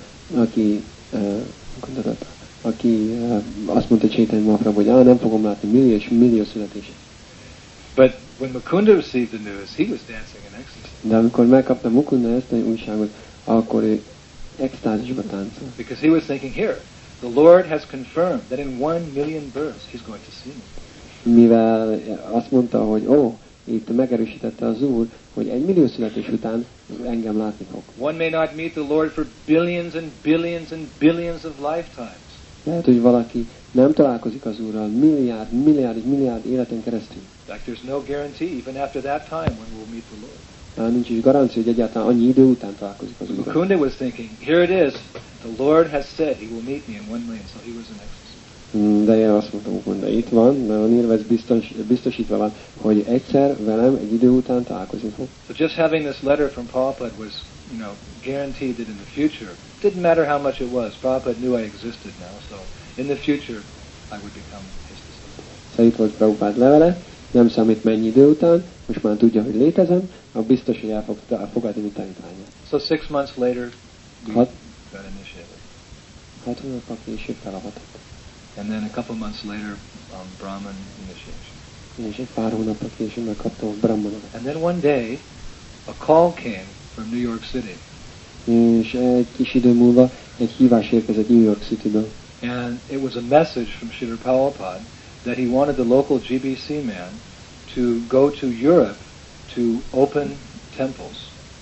aki azt mondta Chaitanya Mahaprabhu, hogy nem fogom látni millió és millió születését. But when Mukunda received the news, he was dancing in ecstasy. De amikor megkapta Mukunda ezt a újságot, akkor ő extázisba táncol. Because he was thinking, here, the Lord has confirmed that in 1 million births he's going to see me. Mivel azt mondta, hogy itt megerősítette az Úr, hogy 1 millió születés után engem látni fog. One may not meet the Lord for billions and billions and billions of lifetimes. Lehet, hogy valaki nem találkozik az Úrral milliárd életen keresztül. In fact, there's no guarantee even after that time when we'll meet the Lord. Tehát nincs is garancia, hogy egyáltalán annyi idő után találkozik az Úrral. Mukunda was thinking, here it is, the Lord has said he will meet me in 1 million, so he was in ecstasy. De én azt mondtam, Mukunda, itt van, nagyon írva, ez biztosítva van, hogy egyszer velem egy idő után találkozni fog. So just having this letter from Prabhupada was, guaranteed that in the future, didn't matter how much it was, Prabhupada knew I existed now, so in the future I would become his disciple. Szóval itt volt Prabhupád levele, nem számít mennyi idő után, most már tudja, hogy létezem, akkor biztos, hogy el fog fogadni, mint tanítványát. So 6 months later, we got initiated. 6 hónappal később felavatott. And then a couple months later, Brahman initiation. És egy pár hónappal később megkaptam a Brahmanodat. And then one day, a call came from New York City. És egy kis idő múlva egy hívás érkezett New York Cityből. And it was a message from Srila Prabhupada that he wanted the local GBC man to go to Europe to open temples.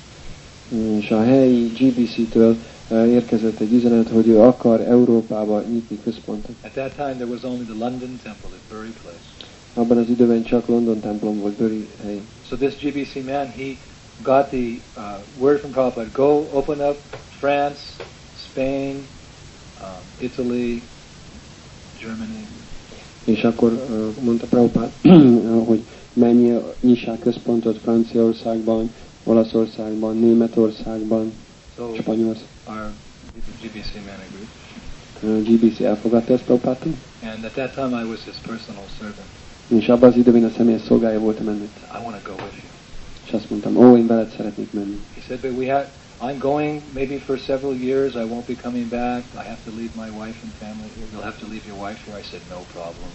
És a helyi GBC-től érkezett egy üzenet, hogy ő akar Európába nyitni központot. At that time there was only the London temple at Bury Place. Abban az időben csak London templom volt Bury helyen. So this GBC man, he got the word from Prabhupada, go open up France, Spain, Italy, Germany. És akkor mondta Prabhupada, hogy menj, nyissák központot Franciaországban, Olaszországban, Németországban, Spanyolországban. Our GBC man agreed. GBC elfogadta ezt Prabhupádtól. And at that time I was his personal servant. És abban az időben a személyes szolgája voltam ennek. I want to go with you. És azt mondtam, én veled szeretnék menni. He said, but I'm going maybe for several years. I won't be coming back. I have to leave my wife and family here. You'll have to leave your wife here. I said, no problem.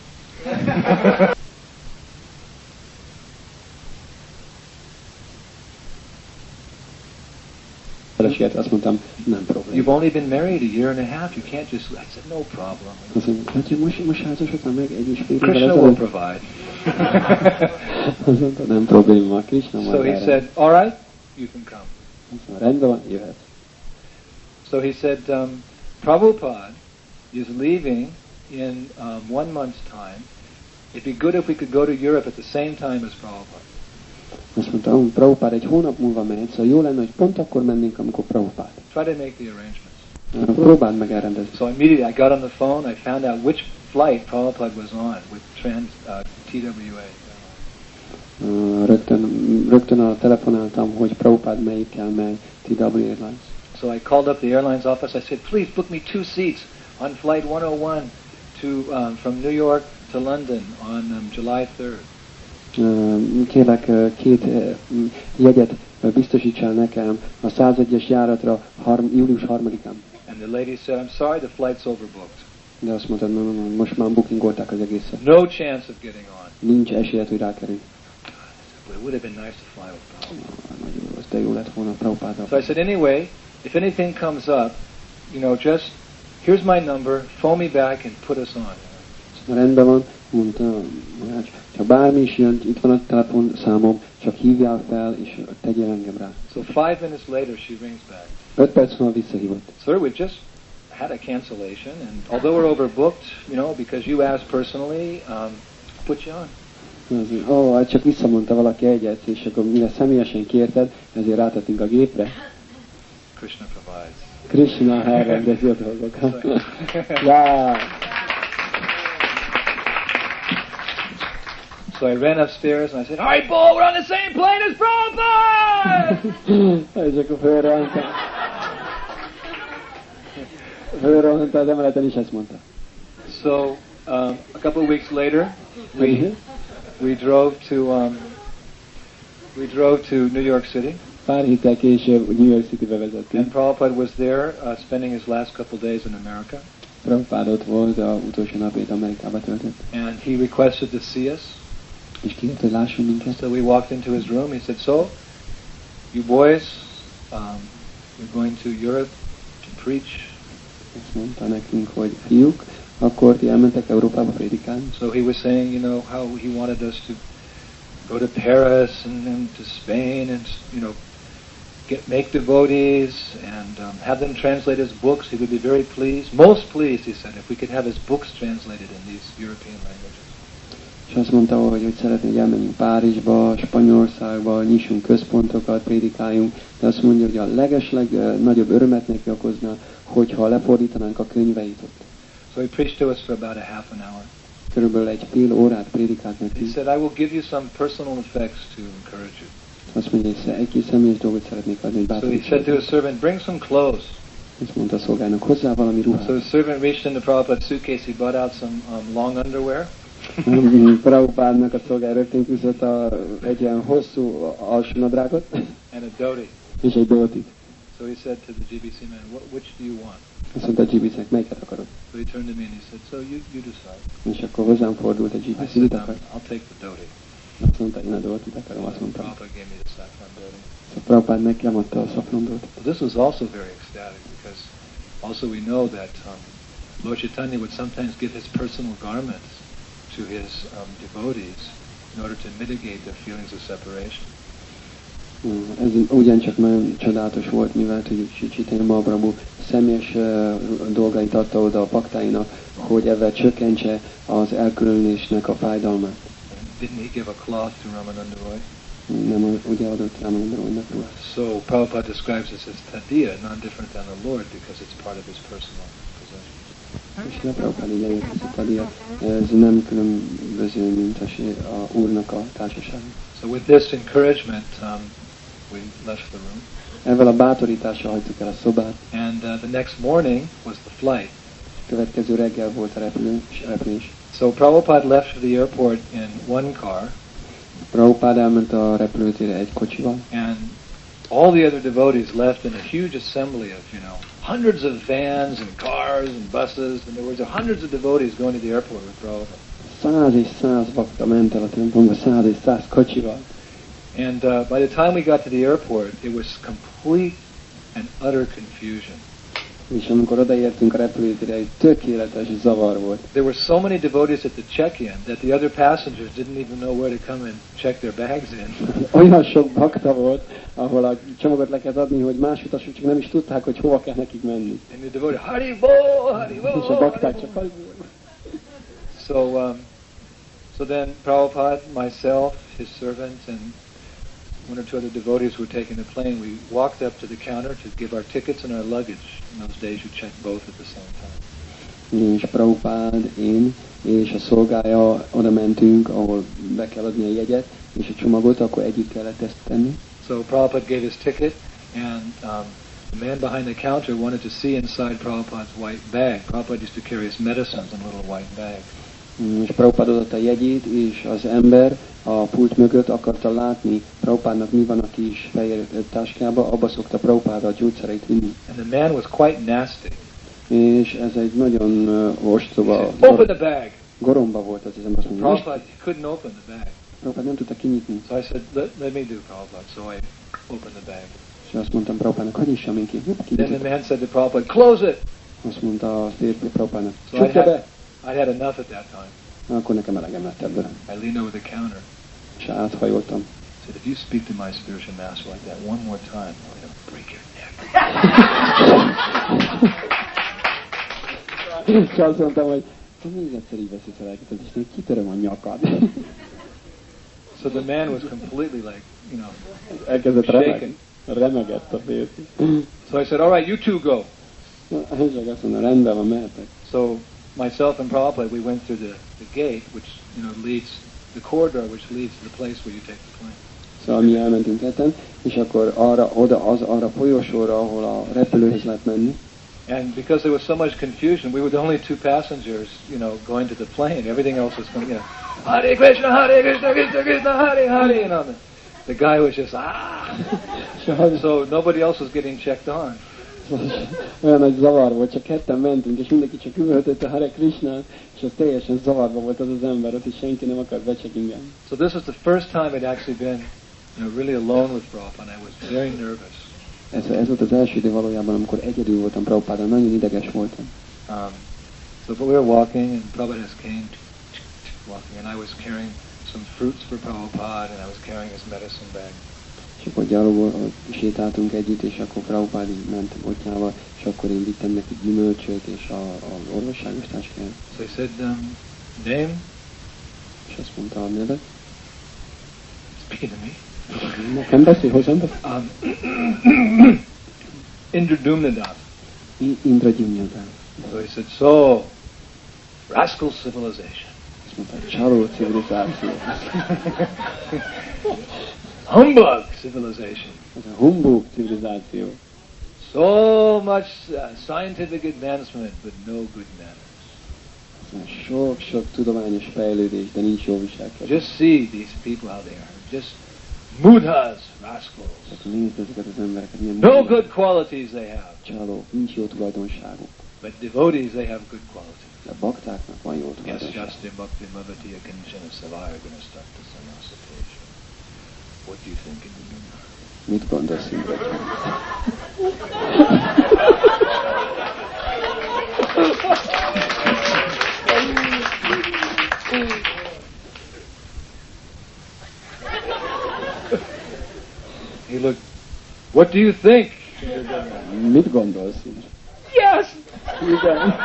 Azt mondtam, nem probléma. You've only been married a year and a half. You can't just... I said, no problem. Azt mondtam, hát most házasodtam meg 1,5 évvel Krishna will provide. Azt mondta, nem probléma, Krishna majd So he said, all right, you can come. Azt mondta, rendben van, jöhet. So he said, Prabhupada is leaving in 1 month's time. It'd be good if we could go to Europe at the same time as Prabhupada. Azt mondta, Prabhupád egy hónap múlva mehet, szóval jó lenne, hogy pont akkor mennénk, amikor Prabhupád. Try to make the arrangements. Próbáld meg elrendezni. So immediately I got on the phone, I found out which flight Prabhupada was on with TWA. Rögtön telefonáltam, hogy Prabhupád melyikkel megy, TWA Airlines. So I called up the airlines office, I said, please book me 2 seats on flight 101 from New York to London on July 3rd. Kérlek 2 jegyet biztosítsál nekem a 101-es járatra július 3-án. And the lady said, I'm sorry, the flight's overbooked. De azt mondta, no, most már bookingolták az egészet. No chance of getting on. Nincs esélyed, hogy rákerülj. It would have been nice to fly with Prabhupada. Nagyon rossz, de jó lett volna Prabhupáddal. So I said, anyway, if anything comes up, just here's my number, phone me back and put us on. Rendben van, mondta, csak bármi is jön, itt van a telefon számom, csak hívjál fel, és tegyél engem rá. So 5 minutes later she rings back. 5 perc múlva visszahívott. Sir, we've just had a cancellation, and although we're overbooked, because you asked personally, put you on. Hát csak visszamondta valaki egyet, és akkor mire személyesen kérted, ezért rátettünk a gépre. Krishna provides. Krishna elrendezi a dolgokat. Yeah. So I ran upstairs and I said, "All right, Bull, we're on the same plane as Prabhupada!" És akkor fölrohant az emeleten, és ezt mondta. So a couple of weeks later, we drove to New York City. Pár héttel később New York Citybe vezettünk. And Prabhupada was there, spending his last couple of days in America. Prabhupada ott volt, az utolsó napját Amerikába töltött. And he requested to see us. És kért, hogy lásson minket. So we walked into his room. He said, "So, you boys, we're going to Europe to preach." Azt mondta nekünk, hogy fiúk, akkor ti elmentek Európába prédikálni. So he was saying, how he wanted us to go to Paris and to Spain and, make devotees and have them translate his books. He would be very pleased, most pleased, he said, if we could have his books translated in these European languages. És azt mondta, hogy szeretné, hogy elmenjünk Párizsba, Spanyolországba, nyissunk központokat, prédikáljunk, de azt mondja, hogy a legeslegnagyobb örömet neki okozna, hogyha lefordítanánk a könyveit ott. So he preached to us for about a half an hour. Körülbelül egy fél órát prédikált neki. He said, "I will give you some personal effects to encourage you." Azt mondja, hogy egy kis személyes dolgot szeretnék adni, hogy So he said to his servant, "Bring some clothes." Azt mondta a szolgának, hozzá valami ruhát. So the servant reached into Prabhupada's suitcase. He brought out some long underwear. Prabhupádnak a szolgál rögtön küzdött egy ilyen hosszú alsónadrágot. And a dhoti. És egy dótit. So he said to the GBC man, "Which do you want?" Azt mondta a GBC-nek, melyiket akarod? So he turned to me and he said, "So you decide." És akkor hozzám fordult a I GBC, said, mit akar? "I'll take the dhoti." Azt mondta, én a dótit akarom, azt mondtam. Prabhupada gave me the saffron dhoti. Szóval Prabhupád nekem adta a szafrondót. This was also very ecstatic because also we know that Lord Chaitanya would sometimes give his personal garments to his devotees in order to mitigate their feelings of separation. Ez ugyancsak nagyon csodálatos volt, mivel hogy Chaitanya Mahaprabhu személyes dolgait adta oda a paktáinak, hogy ezzel csökkentse az elkülönülésnek a fájdalmát. Didn't he give a cloth to Ramananda Roy? Nem, ugye adott Ramananda Roynak ruhát. So Prabhupada describes this as tadiya, non-different than the Lord, because it's part of his personal possession. És Prabhupada így eljött ezt a tadiya, ez nem különböző, mint a Úrnak a társaság. So with this encouragement, we left the room. Ezzel a bátorítással hagytuk el a szobát. And the next morning was the flight. Következő reggel volt a repülés. So Prabhupada left for the airport in one car. Prabhupada elment a repülőtérre egy kocsival. And all the other devotees left in a huge assembly of, hundreds of vans and cars and buses. And there were hundreds of devotees going to the airport with Prabhupada. 100 és 100 bakta ment el a templomba, 100 és 100 kocsival. And by the time we got to the airport, it was complete and utter confusion. És amikor odaértünk a repülőtérre, egy tökéletes zavar volt. There were so many devotees at the check-in that the other passengers didn't even know where to come and check their bags in. Olyan sok bakta volt, ahol a csomagot le kellett adni, hogy más utasok csak nem is tudták, hogy hova kell nekik menni. And the devotee, Haribol! És a bakták csak So then Prabhupada, myself, his servant, and one or two other devotees were taking the plane. We walked up to the counter to give our tickets and our luggage. In those days you checked both at the same time. És Prabhupád, én és a szolgája oda mentünk, ahol be kell adni a jegyet, és a csomagot, akkor együtt kellett ezt tenni. So Prabhupada gave his ticket, and the man behind the counter wanted to see inside Prabhupada's white bag. Prabhupada used to carry his medicines in a little white bag. És Prabhupada adott a jegyét, és az ember a pult mögött akarta látni Prabhupádnak mi van a kis fehér táskába, abba szokta Prabhupáda a gyógyszereit vinni. And the man was quite nasty. És ez egy nagyon ostoba, Open the bag! goromba volt az ember, azt mondja. Prabhupada couldn't open the bag. Prabhupád nem tudta kinyitni. So I said, let me do, Prabhupada. So I opened the bag. És azt mondtam Prabhupádnak, hogy nyissam én ki. Then the man said to Prabhupada, close it! Azt mondta a férfi Prabhupádnak, So csukja be! I had enough at that time. Akkor nekem elegem lett ebből. I leaned over the counter. És áthajoltam. I said, if you speak to my spiritual master like that one more time, I'm going to break your neck. És azt mondtam, hogy még egyszer így beszélsz elkezdett, és még kitöröm a nyakad. So the man was completely like, Elkezdett shaken. remegett a férfi. So I said, all right, you two go. És azt mondom, rendben van, mehetek. So myself and Prabhupada, we went through the gate, which leads, the corridor which leads to the place where you take the plane. Szóval mi elmentünk ketten, és akkor arra a folyosóra, ahol a repülőhöz lehet menni. And because there was so much confusion, we were the only two passengers, going to the plane. Everything else was going, Hare Krishna, Krishna Krishna, Hare Hare, the guy was just, So nobody else was getting checked on. Olyan nagy zavar volt, csak ketten mentünk, és mindenki csak üvöltötte Hare Krishna, és az teljesen zavarba volt az ember, ott is senki nem akart becsekingeni. So this was the first time I'd actually been, really alone with Prabhupada. I was very nervous. Ez volt az első idő valójában, amikor egyedül voltam Prabhupádon, nagyon ideges voltam. So we were walking, and Prabhupada came walking, and I was carrying some fruits for Prabhupada, and I was carrying his medicine bag. És akkor gyalogol, sétáltunk együtt, és akkor Prabhupád így ment botjával, és akkor én vittem neki gyümölcsöt, és az orvosságos táskáját. So he said, name? És azt mondta a nevet. Speaking to me. Nekem beszél, hozzám beszél? Indra Dumnadas. Indra Dumnadas. So he said, so, rascal civilization. Azt mondta, csaló civilizáció. Humbug civilization. Ez a humbug civilizáció. So much scientific advancement, but no good manners. Sok tudományos fejlődés, de nincs jó viselkedés. Just see these people how they are. Just mudhas, rascals. Nézd ezeket az embereket, milyen no good qualities they have. Csalók, nincs jó tulajdonságuk. But devotees, they have good qualities. De baktáknak van jó tulajdonság. Yes, just bhakti mavatiya kanchana savaya gunastakta sanasateja. What do you think in the Guna? Mit gondolsz, Indra? He looked, what do you think? Mit gondolsz, Indra? Yes! Igen.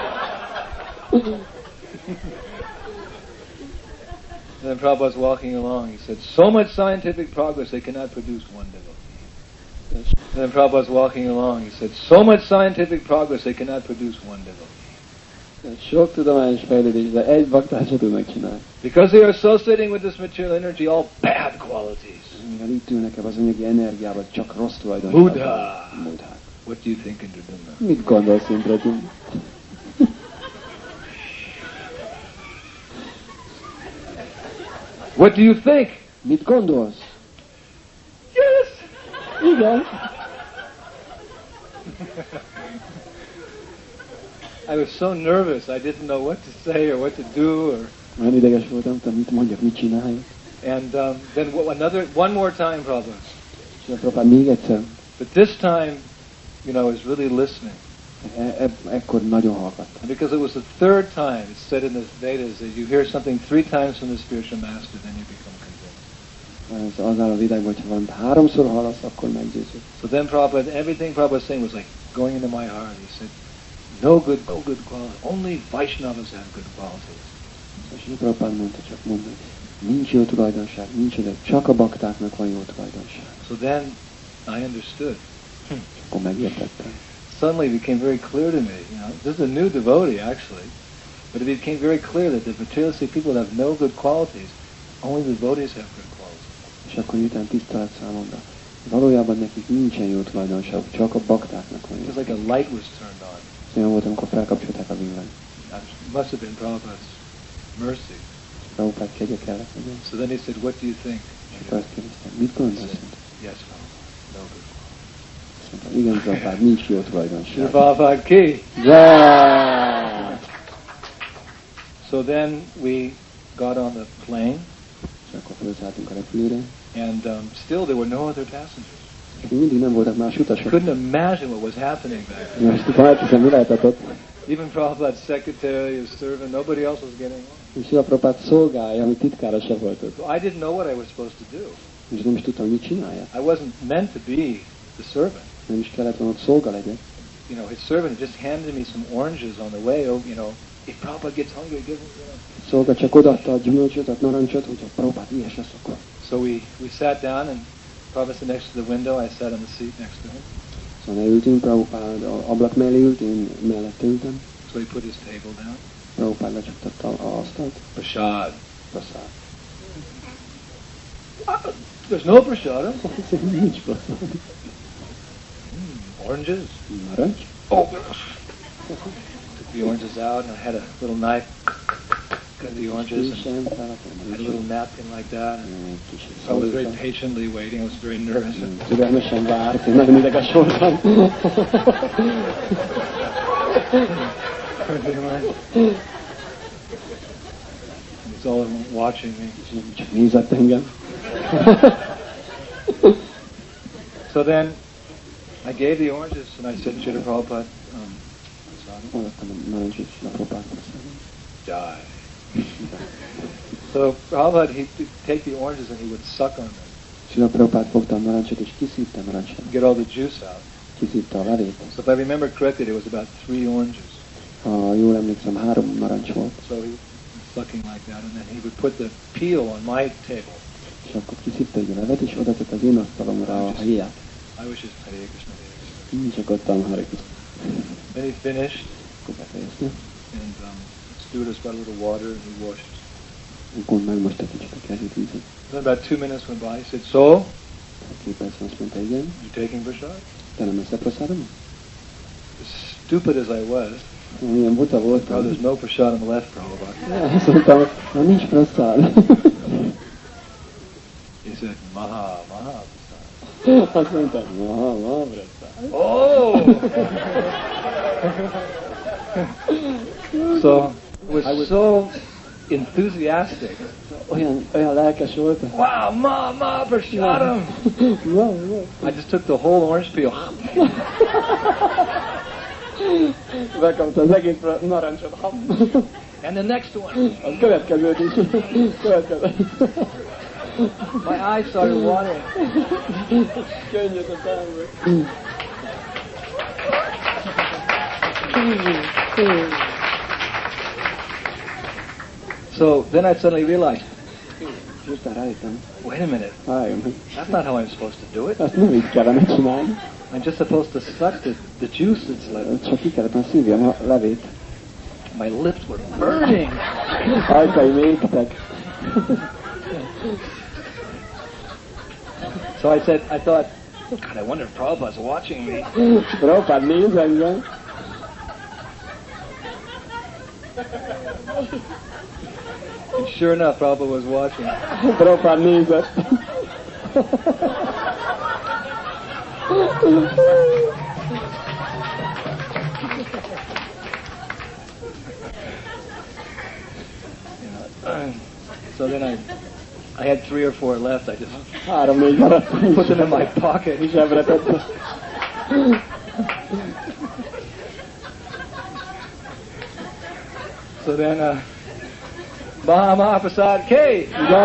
And then Prabhupada was walking along. He said, so much scientific progress, they cannot produce one devotee. And then Prabhupada was walking along. He said, so much scientific progress, they cannot produce one devotee. Sok tudományos fejlődés, de egy baktát se tudnak csinálni. Because they are associating with this material energy all bad qualities. Mivel itt ülnek ebbe az anyagi energiával, csak rossz tulajdonság. Buddha. What do you think, Indra? Mit gondolsz, Indra? What do you think? Mit gondolsz? Yes! Igen. I was so nervous. I didn't know what to say or what to do. Olyan ideges voltam, nem tudom, mit mondjak, mit csináljak. And then one more time, Prabhupada. És a Prabhupada még egyszer. But this time, was really listening. Ekkor nagyon hallgattam. Because it was the third time, it's said in the Vedas, that you hear something 3 times from the spiritual master, then you become convinced. Az áll a világban, hogyha valamit 3-szor hallasz, akkor meggyőződ. So then Prabhupada, everything Prabhupada was saying was like going into my heart. He said, no good qualities. Only Vaishnavas have good qualities. És Prabhupada mondta, csak mondani, nincs jó tulajdonság, nincs oda, csak a baktáknak van jó tulajdonság. So then I understood. Akkor megértettem. Suddenly it became very clear to me, this is a new devotee actually, but it became very clear that the materialistic people have no good qualities, only the devotees have good qualities. És akkor miután tiszta lett számomra, valójában nekik nincsen jó tulajdonság, csak a baktáknak van jó. It was like a light was turned on. Olyan volt, amikor felkapcsolták a villanyt. It must have been Prabhupada's mercy. Prabhupada kegye kellett legyen. So then he said, what do you think? És akkor azt kérdeztem, mit gondolsz? Yes, Prabhupada, no good qualities. Mondtam, igen, Prabhupada, nincs jó tulajdonság. Prabhupada ki! Yeah! So then we got on the plane. És akkor felszálltunk a repülőre. And still there were no other passengers. És mindig nem voltak más I utasok. couldn't imagine what was happening back then. Most felteszem, mi lehetett ott? Even Prabhupada's secretary, his servant, nobody else was getting on. És Srila Prabhupád szolgálja, ami titkára se volt ott. So I didn't know what I was supposed to do. És nem is tudtam, mit csinálja. I wasn't meant to be the servant. Nem is kellett volna ott szolga legyek. You know, his servant just handed me some oranges on the way. Oh, you know, if Prabhupada gets hungry, give him. You know. Szolga csak odaadta a gyümölcsöt, a narancsot, hogyha Prabhupád ilyes lesz, akkor. So we sat down, and Prabhupada sat next to the window. I sat on the seat next to him. Szóval leültünk, Prabhupád ablak mellé ült, én mellette ültem. So he put his table down. Prabhupád lecsaptatta az asztalt. Prasad. Prasad. There's no prasad. Nincs prasad. Oranges. Narancs. Oh. Took the oranges out, and I had a little knife. Cut the oranges. And had a little napkin like that. I was very patiently waiting. I was very nervous. Türelmesen várt, én nagyon ideges voltam. He's all watching me. Csak nézett engem. So then I gave the oranges and I said to Srila Prabhupada, die. So Prabhupada, he'd take the oranges and he would suck on them. Srila Prabhupád fogta a narancsot és kiszívta a narancsot. Get all the juice out. Kiszívta a levét. So if I remember correctly, there was about 3 oranges. Ha jól emlékszem, 3 narancs volt. So he was sucking like that, and then he would put the peel on my table. És akkor kiszívta egy a levet, és oda tett az én asztalomra a héját. I was just Hare Krishna, Hare Krishna. Én csak adtam Hare Krishna. Then he finished, Akkor befejezte. and stewardess got a little water, and he washed. Akkor megmosta kicsit a kezét vízet. Then about 2 minutes went by. He said, "So, 2 percen azt mondta, igen. you taking prasad?" Te nem eszed prasádom? As stupid as I was, Milyen buta voltam. oh, there's no prasad on the left, Prabhupada. Azt mondtam, na nincs praszád. He said, Maha, Maha prasad. Azt mondtam, maha praszád. Oh! So I was so enthusiastic. Olyan lelkes voltam. Wow, Ma prasadam! I just took the whole orange peel. Bekapta az egész narancsot. And the next one. Az következőt is. My eyes started watering. Könnyed a számba. So then I suddenly realized, Aztán rájöttem. wait a minute, Várjon, that's not how I'm supposed to do it. ezt nem így kellene csinálni. I'm just supposed to suck the juice that's left. Csak ki kellett szívni a levét. My lips were burning. Ajkaim égtek. So I thought, God, I wonder if Prabhupada's watching me. Prabhupád néz engem. And sure enough, Prabhupada was watching. Prabhupád nézett. So then I had 3 or 4 left. I just 3-4 maradt. put them in my pocket. Zsebre tettem. So then, Maha Prasad K.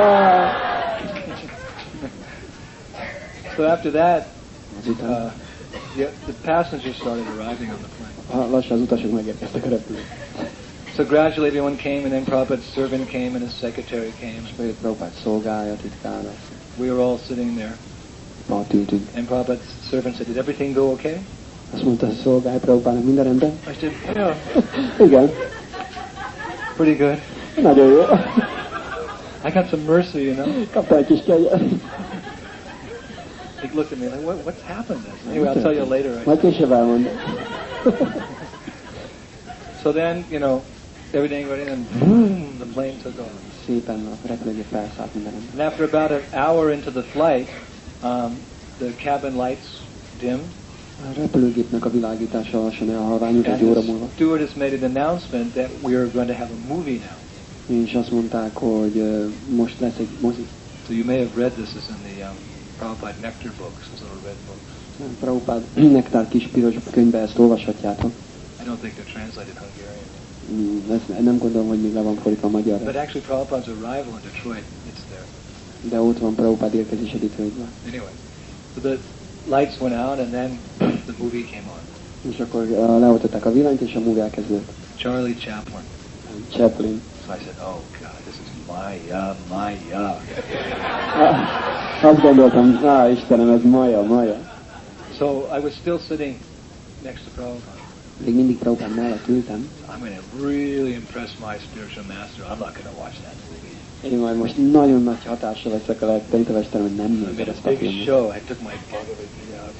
So after that, the passengers started arriving on the plane. Lassan az utasok megérkeztek a repülőn. So gradually everyone came, and then Prabhupada's servant came, and his secretary came. És Prabhupád szolgálja, titkára. We were all sitting there. Ott ültünk. And Prabhupada's servant said, "Did everything go okay?" Azt mondta, hogy szolgálj Prabhupádnak, minden rendben? I said, "Yeah, Igen. pretty good. Nagyon jó. I got some mercy, you know." Kaptam egy kis kegyet. He looked at me like, "What's happened?" Anyway, I'll tell you later. Majd később elmondom. So then, you know, everything went in, and boom, the plane took off. Szépen a repülőgép felszállt minden rendben. And after about an hour into the flight, the cabin lights dimmed. A repülőgépnek a világítása lassan elhalványult And egy óra the múlva. stewardess made an announcement that we are going to have a movie now. És azt mondták, hogy most lesz egy mozi. So you may have read this is in the Prabhupada Nectar books, those little red books. Prabhupád Nektár kis piros könyvbe ezt olvashatjátok. I don't think they're translated Hungarian. Ezt nem gondolom, hogy még le van fordítva magyarra. But actually Prabhupada's arrival in Detroit, it's there. De ott van Prabhupád érkezése Detroitban. Anyway, so the lights went out and then the movie came on. És akkor leoltották a villanyt, és a movie elkezdődött. Charlie Chaplin. Chaplin. So I said, oh God, this is Maya, Maya. Azt gondoltam, Istenem, ez Maya. So I was still sitting next to Prabhupada. Még mindig Prabhupád mellett ültem. I'm going to really impress my spiritual master. I'm not going to watch that movie. Én majd most nagyon nagy hatással leszek a tanítómesterem, hogy nem I made nézem a ezt a big filmet. show. I took my Bhagavad Gita out.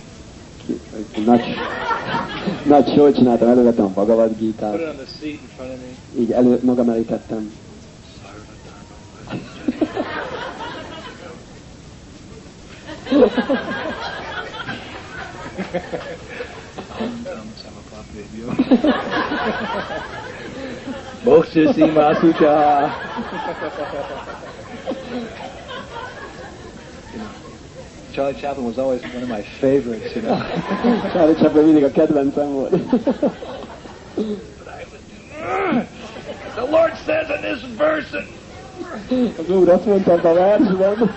Nagy show-t csináltam, elővettem a Bhagavad Put Gitát. it on the seat in front of me. Így magam elé tettem. Moksisi Masucha. Charlie Chaplin was always one of my favorites, you know. Charlie Chaplin mindig a kedvencem volt. But I would do. The Lord says in this verse. Az Úr azt mondta a versben.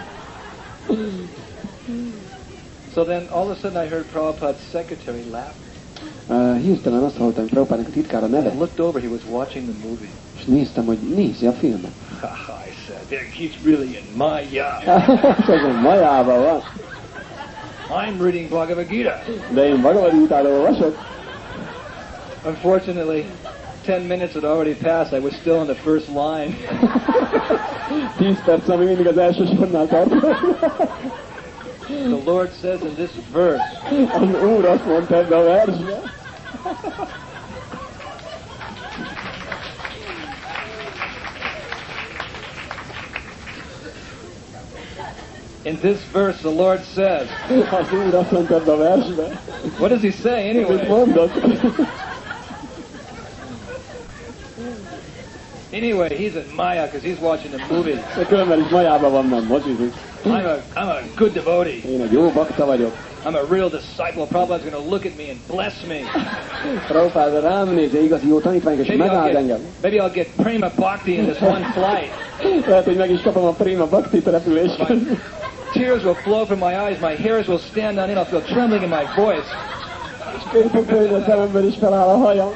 So then all of a sudden I heard Prabhupada's secretary laugh. Hirtelen azt hallottam, hogy Prabhupádnak a titkára I nevet, looked over, he was watching the movie. és néztem, hogy nézi a filmet. I said, he's really in Maya. És azon Majában van. I'm reading Bhagavad Gita. De én Bhagavad Gitát olvasok. Unfortunately, 10 minutes had already passed. I was still in the first line. 10 perc, ami mindig az első sornál tartott. The Lord says in this verse, Az Úr azt mondta ebbe a versbe. in this verse the Lord says, Az Úr azt mondta ebbe a versbe. what does he say Mit anyway? mondott? Anyway, he's in Maya because he's watching the movie. De különben is Majában van, nem mocsizik. I'm a good devotee. Én egy jó bakta vagyok. I'm a real disciple. Prabhupada's going to look at me and bless me. Prabhupád rám néz, igazi jó tanítvány, és megáld engem. Maybe I'll get prima bhakti in this one flight. Lehet, hogy meg is kapom a Prima Bhakti repülésen. Tears will flow from my eyes. My hairs will stand on end. I'll feel trembling in my voice. És kérpukölni a szememben is feláll a hajam.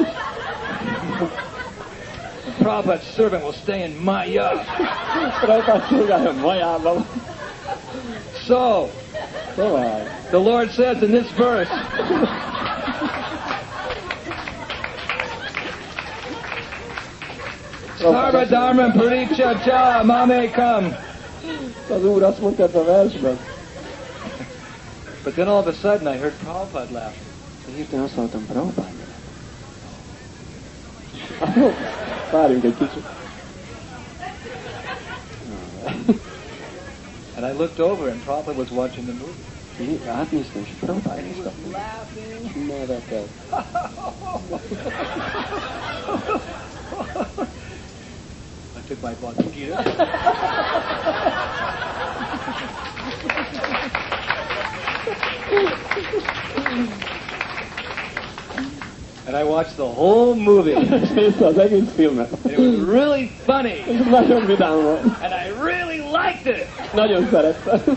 Prabhupada's servant will stay in Maya. Prabhupád szolgálja Majában. So, Szóval, the Lord says in this verse, Sarva Dharma Paricha Cha Mame Kam. az Úr azt mondta ebben a versben. But then all of a sudden I heard Prabhupada laughing. De hirtelen azt hallottam, Prabhupád. Várjunk egy kicsit. And I looked over and Prabhupada was watching the movie. Átnéztem, és Prabhupád néztem. Nevetett. I took my Bhagavad Gita. And I watched the whole movie. És nézte az egész filmet. And it was really funny. És nagyon vidám volt. And I really liked it. Nagyon szerettem.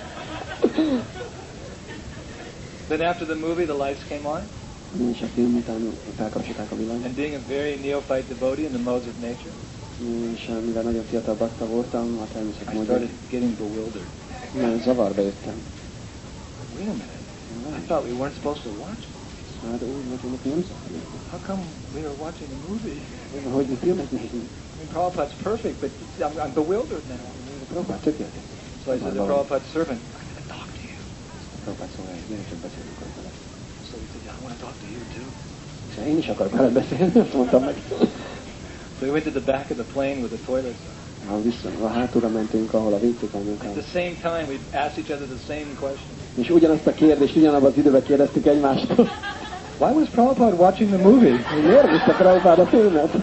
Then after the movie, the lights came on. És a film után felkapcsolták a villanyt. And being a very neophyte devotee in the modes of nature, És mivel nagyon fiatal bakta voltam, a természet I módon started getting bewildered. nagyon zavarba jöttem. Wait a minute. I thought we weren't supposed to watch. Hát úgy voltunk, hogy nem szabad. How come we were watching a movie? Hogy mi filmet nézünk? I mean, Prabhupada's perfect, but I'm bewildered now. Prabhupád tökéletes. So I said to Prabhupada's servant, I'm going to talk to you. Prabhupád szólja, hogy gyere csak beszélünk vele. So he said, yeah, I want to talk to you too. És én is akarok veled beszélni, azt mondtam meg. So we went to the back of the plane with the toilets. A hátulra mentünk, ahol a WC-k At vannak. the same time, we asked each other the same question. És ugyanazt a kérdést ugyanabban az időben kérdeztük egymástól. Why was Prabhupada watching the movie? Miért nézte Prabhupád a filmet?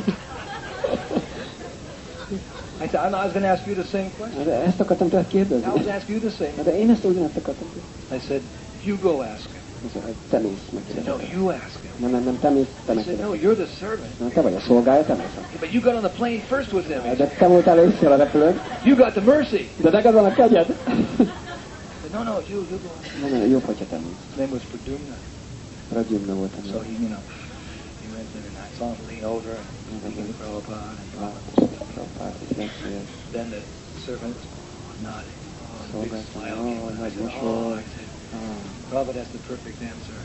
I said, I was going to ask you the same question. De ezt akartam tőled I kérdezni. was going to ask you the same. De én ezt ugyanazt akartam kérdezni. I said, you go ask him. Te mész meg. No, you ask him. Nem, te mész, te I meg. said, no, you're the servant. Na, te vagy a szolgája, te mész. But you got on the plane first with him. De te voltál először a repülőn. You got the mercy. De neked van a kegyed. No, you go. Nem, jobb, hogyha te mész. His name was Pradyumna. Pradyumna volt a So neve. he went in and I saw him lean over and speaking to Prabhupada. Then the servant nodded. Oh, big smile. I said, Prabhupada has the perfect answer.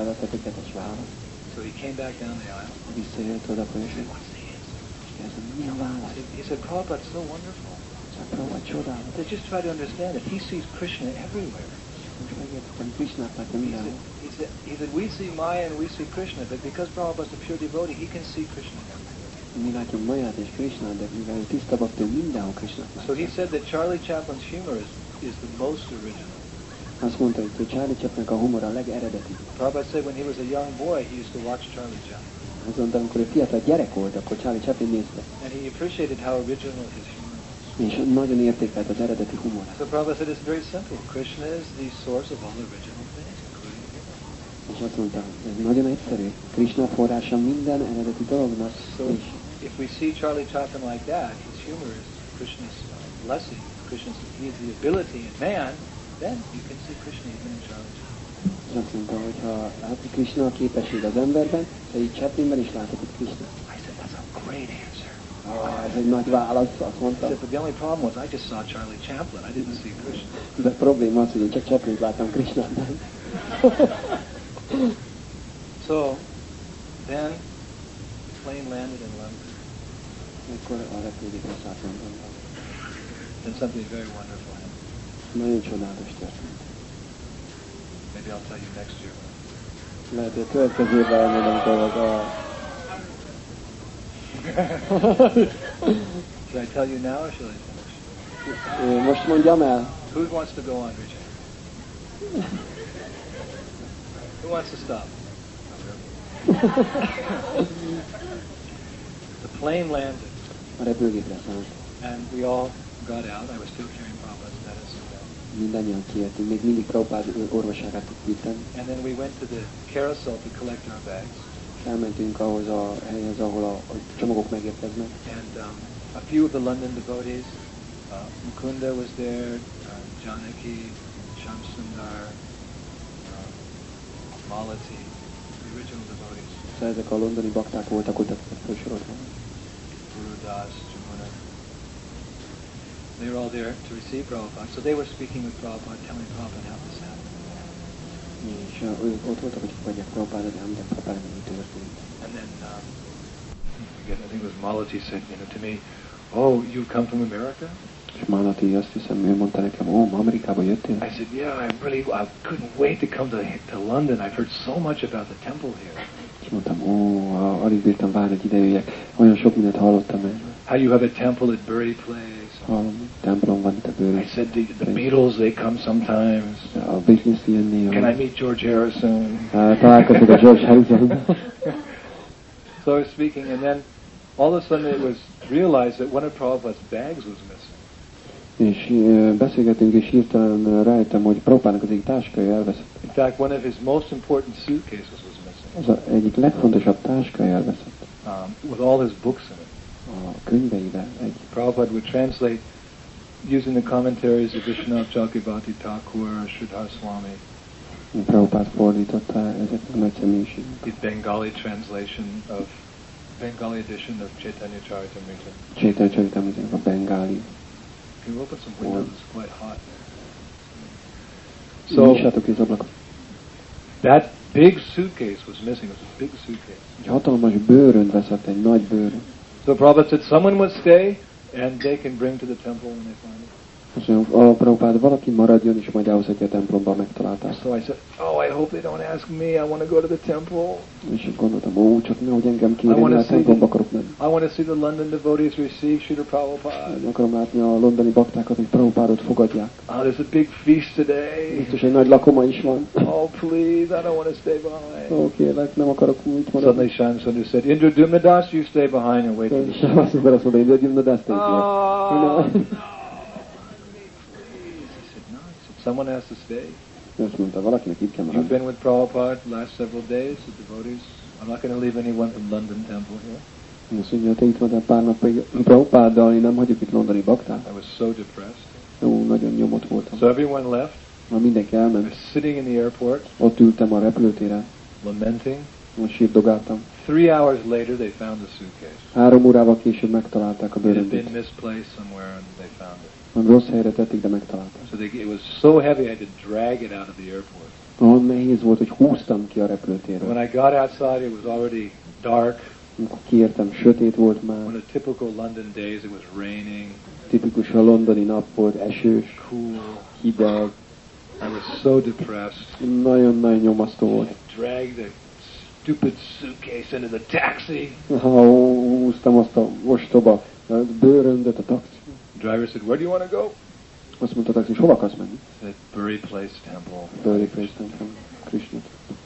So he came back down the aisle. He said, what's the answer? He said, Prabhupada's so wonderful. They just try to understand it. He sees Krishna everywhere. He said, we see Maya and we see Krishna, but because Prabhupada's a pure devotee, he can see Krishna everywhere. So he said that Charlie Chaplin's humor is the most original. Azt mondta, hogy Charlie Chaplinnek a humor a legeredetibb. Prabhupada said when he was a young boy, he used to watch Charlie Chaplin. Azt mondta, amikor ő fiatal gyerek volt, akkor Charlie Chaplin nézte. And he appreciated how original his humor was. És nagyon értékelt az eredeti humorát. So Prabhupada said it's very simple. Krishna is the source of all original things, including humor. És azt mondta, ez nagyon egyszerű. Krishna forrása minden eredeti dolognak. So if we see Charlie Chaplin like that, his humor is Krishna's blessing. He has the ability in man, then you can see Krishna even in Charlie Chaplin. És azt mondta, hogy ha látni Krishna a képesség az emberben, de így Chaplinben is láthatod Krishna. I said, that's a great answer. Ez egy nagy válasz, azt mondta. But the only problem was I just saw Charlie Chaplin. I didn't see Krishna. De a probléma az, hogy én csak Chaplint láttam Krishnában. So, then the plane landed in London. Akkor a repülőgépre szállt Londonban. Then something very wonderful happened. Nagyon csodálatos történt. Maybe I'll tell you next year. Lehet, hogy a következő évben elmondom dolgokat. Should I tell you now or should I finish? Most mondjam el. Who wants to go on, Richard? Who wants to stop? The plane landed. A repülőgépre szállt. And we all got out. I was still carrying Prabhupada's medicine. Mindannyian kijöttünk, még mindig Prabhupád orvoságát vittem. And then we went to the carousel to collect our bags. Elmentünk ahhoz a helyhez, ahol a csomagok megérkeznek. And a few of the London devotees, Mukunda was there, Janaki, Shamsundar, Malati, the original devotees. Szóval ezek a londoni bakták voltak ott, akiket felsoroltam. Guru Das, Jamuna. They were all there to receive Prabhupada. So they were speaking with Prabhupada, telling Prabhupada how this happened. És ők ott voltak, hogy fogadják Prabhupádot, elmondják Prabhupádot, mi történt. And then, I think it was Malati said, to me, oh, you come from America? És Malati azt hiszem, ő mondta nekem, ma Amerikába jöttél? I said, yeah, I couldn't wait to come to London. I've heard so much about the temple here. És mondtam, alig bírtam várni, hogy ide jöjjek. Olyan sok mindent hallottam el. How you have a temple at Bury Place. Templom van itt a Bury. I said, the Beatles, they come sometimes. A Beatles jönni. Can I meet George Harrison? Találkozok a George Harrison. So I was speaking, and then all of a sudden it was realized that one of Prabhupada's bags was missing. És beszélgetünk, és hirtelen rájöttem, hogy Prabhupádnak az egyik táskája elveszett. In fact, one of his most important suitcases was missing. Az egyik legfontosabb táskája elveszett. With all his books in it. A könyveivel egy. Prabhupada would translate using the commentaries of Vishwanath Chakrabarti Thakur or Sridhar Swami. Prabhupada fordította ezeknek nagy személyiségnek. The Bengali translation of Bengali edition of Chaitanya Charitamrita. Chaitanya Charitamrita a bengali. Can you open some windows? It's quite hot. So that big suitcase was missing. It was a big suitcase. Egy hatalmas bőrönt veszett, egy nagy bőrönt. So Prabhupada said someone would stay and they can bring to the temple when they find it. Azt mondja, a Prabhupád valaki maradjon, és majd elhozhatja a templomba, megtalálták. So I said, I hope they don't ask me. I want to go to the temple. És gondoltam, csak nehogy engem kérjen, a templomba akarok menni. I want to see the London devotees receive Srila Prabhupada. Akarom látni a londoni baktákat, hogy Prabhupádot fogadják. There's a big feast today. Biztos egy nagy lakoma is van. Oh, please, I don't want to stay behind. Kérlek, nem akarok itt maradni. Suddenly Shamsundur said, Indra Das, you stay behind and wait for the show. Azt mondta, Indra Das, stay here. Someone has to stay. Azt mondta, valakinek itt kell You've maradni. been with Prabhupada the last several days, the devotees. I'm not going to leave anyone from London Temple here. Azt mondja, te itt voltál pár napig Prabhupáddal, én nem hagyjuk itt londoni baktát. I was so depressed. Ó, nagyon nyomott voltam. So everyone left. Ma mindenki I elment. was sitting in the airport, Ott ültem a repülőtéren, lamenting. most sírdogáltam. 3 hours later, they found the suitcase. 3 órával később megtalálták a It had bőröndöt. been misplaced somewhere, and they found it. Rossz helyre tették, de megtalálták. So it was so heavy, I had to drag it out of the airport. Olyan nehéz volt, hogy húztam ki a And repülőtérről. when I got outside, it was already dark. Amikor kiértem, sötét volt One már. of the typical London days, it was raining, Tipikus a londoni nap volt, esős, cool. hideg. I was so depressed. Nagyon-nagyon nyomasztó volt. I dragged the stupid suitcase into the taxi. Ha húztam azt a ostoba bőröndöt a taxi. The driver said, "Where do you want to go?" Azt mondta a taxis, hova akarsz menni? I said, "Bury Place Temple." Bőri Krishnát, Krishnát.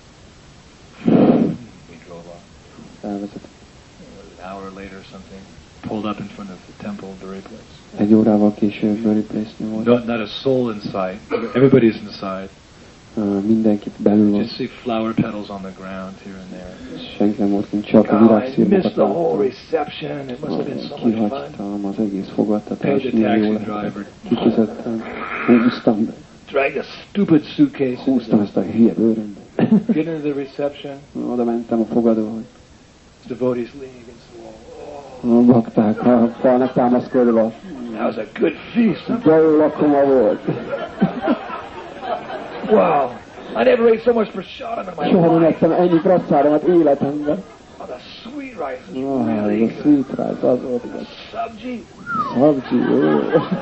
We drove off. Elvezet. An hour later or something, pulled up in front of the temple, Bury Place. 1 órával később Bőri Place-nél volt. Not a soul in sight. Everybody's inside. Mindenki belül volt. Just see flower petals on the ground here and there. Senki nem volt kint, csak a God, I virágszirmokat missed the whole láttam. reception. It must have been so much fun. Kihagytam az egész Paid fogadtatást, the milyen jó taxi lehetett. driver. Kifizettem, húztam be. Dragged a stupid suitcase. Húztam ezt a hülye bőröndöt. Get into the reception. Oda mentem a fogadóhoz. Devotees leaning against the wall. A bakták a falnak támaszkodva. That was a good feast. De jó lakoma volt. Wow. I never ate so much prasadam in my Soha nem life. ettem ennyi prasszáromat életemben. Oh, the sweet rice is Ez really a good. sweet rice, az volt igaz. Sabji. Szabcsi, jó.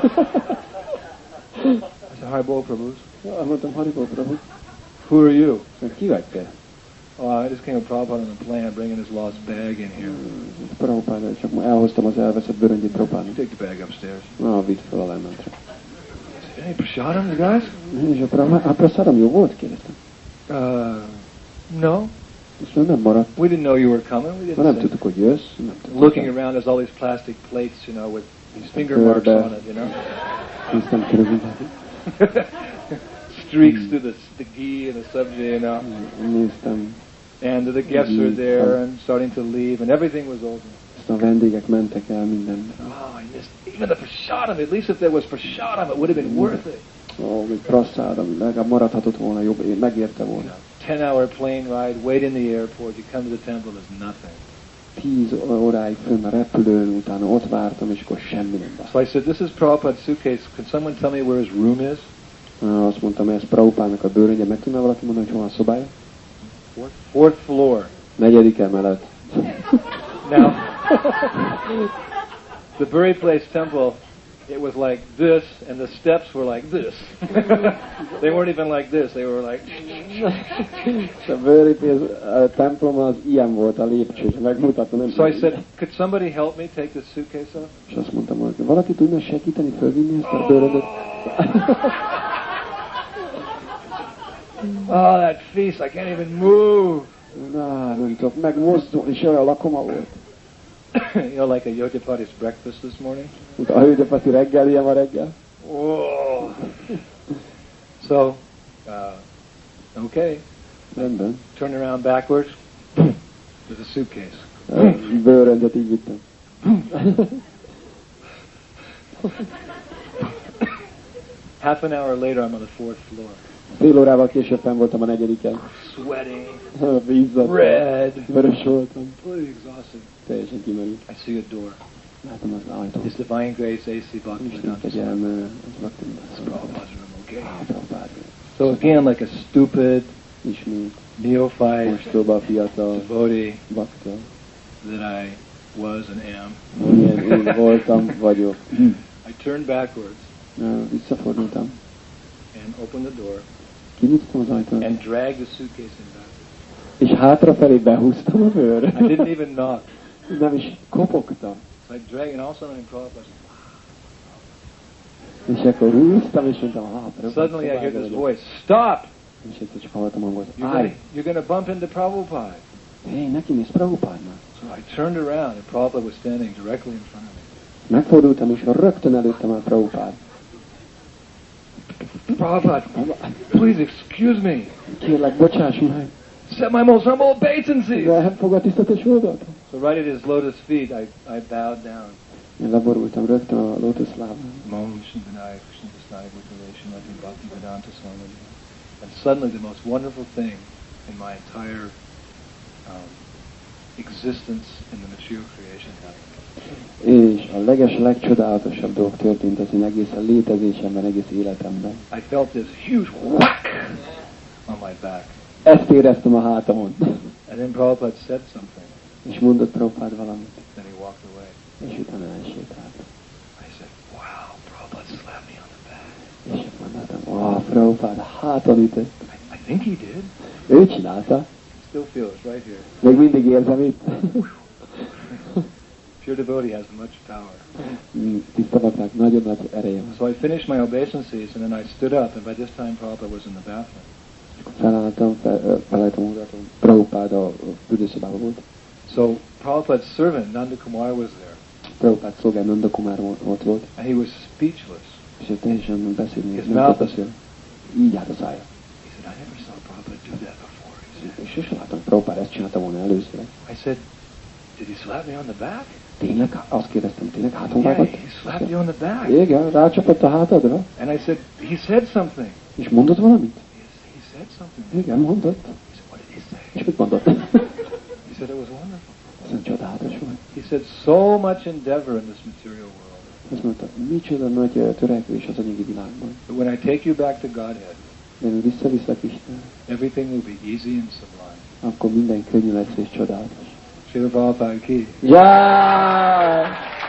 I said, "Hi, Bo Prabhus. Mondtam, Haribó Prabhu, Who are you?" ki vagy te? Oh, I just came with Prabhupada on a plane. I'm bringing his lost bag in here. Prabhupád, csak ma elhoztam az elveszett bőröngyét Prabhupádnak. Take the bag upstairs. Na, vidd fel a lementre. Any prasadam, you guys? És a praszáram jó volt? Kérdeztem. No. Azt mondom, nem maradt. We didn't know you were coming. We Ma nem didn't. tudtuk, hogy jössz. Nem tudtuk. Looking around, there's all these plastic plates, you know, with these finger marks on it, you know. Néztem körülbelül. Streaks through the ghee and the sabji, you know. Néztem. And the guests are there and starting to leave, and everything was over. Aztán a vendégek mentek el minden. Oh, I missed even the prasadam. At least if there was prasadam, it would have been worth it. Ó, még praszáram, legalább maradhatott volna jobb, megérte volna. 10-hour plane ride, wait in the airport, you come to the temple, there's nothing. 10 óráig fönn a repülőn, utána ott vártam, és akkor semmi nem várt. So I said, "This is Prabhupada's suitcase. Can someone tell me where his room is?" Azt mondtam, ez Prabhupádnak a bőröngye, meg tudná valaki mondani, hogy hol a szobája? Fourth floor. 4. emelet. Now, the Bury Place temple, it was like this, and the steps were like this. They weren't even like this. They were like... A Bőri templom az ilyen volt a lépcső, és megmutatta, nem So I said, "Could somebody help me take this suitcase off?" És azt mondtam, hogy valaki tudna segíteni fölvinni ezt a bőröndöt? Oh, that feast, I can't even move. Na, nem tudok megmozdulni, és olyan lakoma volt. You know, like a Yojapati's breakfast this morning. Mint a hölgyapati reggel, ilyen a reggel. Whoa. So, okay, Rendben. turn around backwards. There's a suitcase. Bőröndet így vittem. Half an hour later, I'm on the 4th floor. Fél órával később fenn voltam a 4-en. Sweating, Vízzat. red, Vörös voltam. totally exhausted. Teljesen kimerült. I see a door. Látom az ajtót. His Divine Grace A.C. Isten Bhaktivedanta kegyelme, az laktam. Prabhupada's room, okay? Prabhupád. So again, like a stupid Ismét. neophyte Ostoba, fiatal, devotee bakta. that I was and am, Amilyen én voltam, vagyok. I turned backwards Visszafordultam. and opened the door Kinyitottam az ajtót. and dragged the suitcase in backwards. És hátrafelé behúztam a bőr. I didn't even knock. Nem is kopogtam. So I dragged, and all of a sudden in Prabhupada, És akkor húztam, és mondtam, hátra. suddenly I hear this voice, "Stop! És egyszer csak hallottam hangot. You're gonna bump into Prabhupada." Hé, neki néz Prabhupádnak. So I turned around, and Prabhupada was standing directly in front of me. Megfordultam, és rögtön előttem a Prabhupád. Prabhupada, please excuse me. Kérlek, bocsáss meg. Set my most humble obeisances. Elfogad tisztetés módot? So right at his lotus feet, I bowed down. Én leborultam rögtön a lótuszlábán. Mom Shindanai Krishna Vasnai Vitalation Lati Bhakti Vedanta Swami. And suddenly the most wonderful thing in my entire existence in the material creation happened. És a legcsodálatosabb dolog történt az én egész létezésemben, egész életemben. I felt this huge whack on my back. Ezt éreztem a hátamon. And then Prabhupada said something. És mondott Prabhupád valamit. Then he walked away. És utána elsétált. I said, wow, Prabhupada slapped me on the back. És akkor mondtam, wow, Prabhupád háton ütött. I think he did. Ő csinálta. Still feel it right here. Még mindig érzem itt. Pure devotee has much power. Tiszta baknak nagyon nagy ereje van. So I finished my obeisances and then I stood up, and by this time Prabhupada was in the bathroom. Felálltam, odaadtam. Prabhupád a fürdőszobában volt. So Prabhupada's servant, Nanda Kumar, was there. Prabhupád szolgál Nanda Kumar ott volt. And he was speechless. És ő teljesen beszélni. His mouth was... Így állt a szája. He said, I never saw Prabhupada do that before. He said. És sosem láttam, hogy Prabhupád ezt csinálta volna először. I said, did he slap me on the back? Tényleg? Azt kérdeztem, tényleg háton Yeah, vágott? he slapped you on the back. Igen, rácsapott a hátadra. And I said, he said something. És mondott valamit? He said something. Igen, mondott. He said, what did he say? És mit mondott? He said it was wonderful. Ez csodálatos volt. He said, so much endeavor in this material world. Azt mondta, micsoda nagy törekvés az anyagi világban. But when I take you back to Godhead, De én visszaviszlek Isten, everything will be easy and sublime. akkor minden könnyű lesz és csodálatos. Srila Prabhupada ki. Jaj!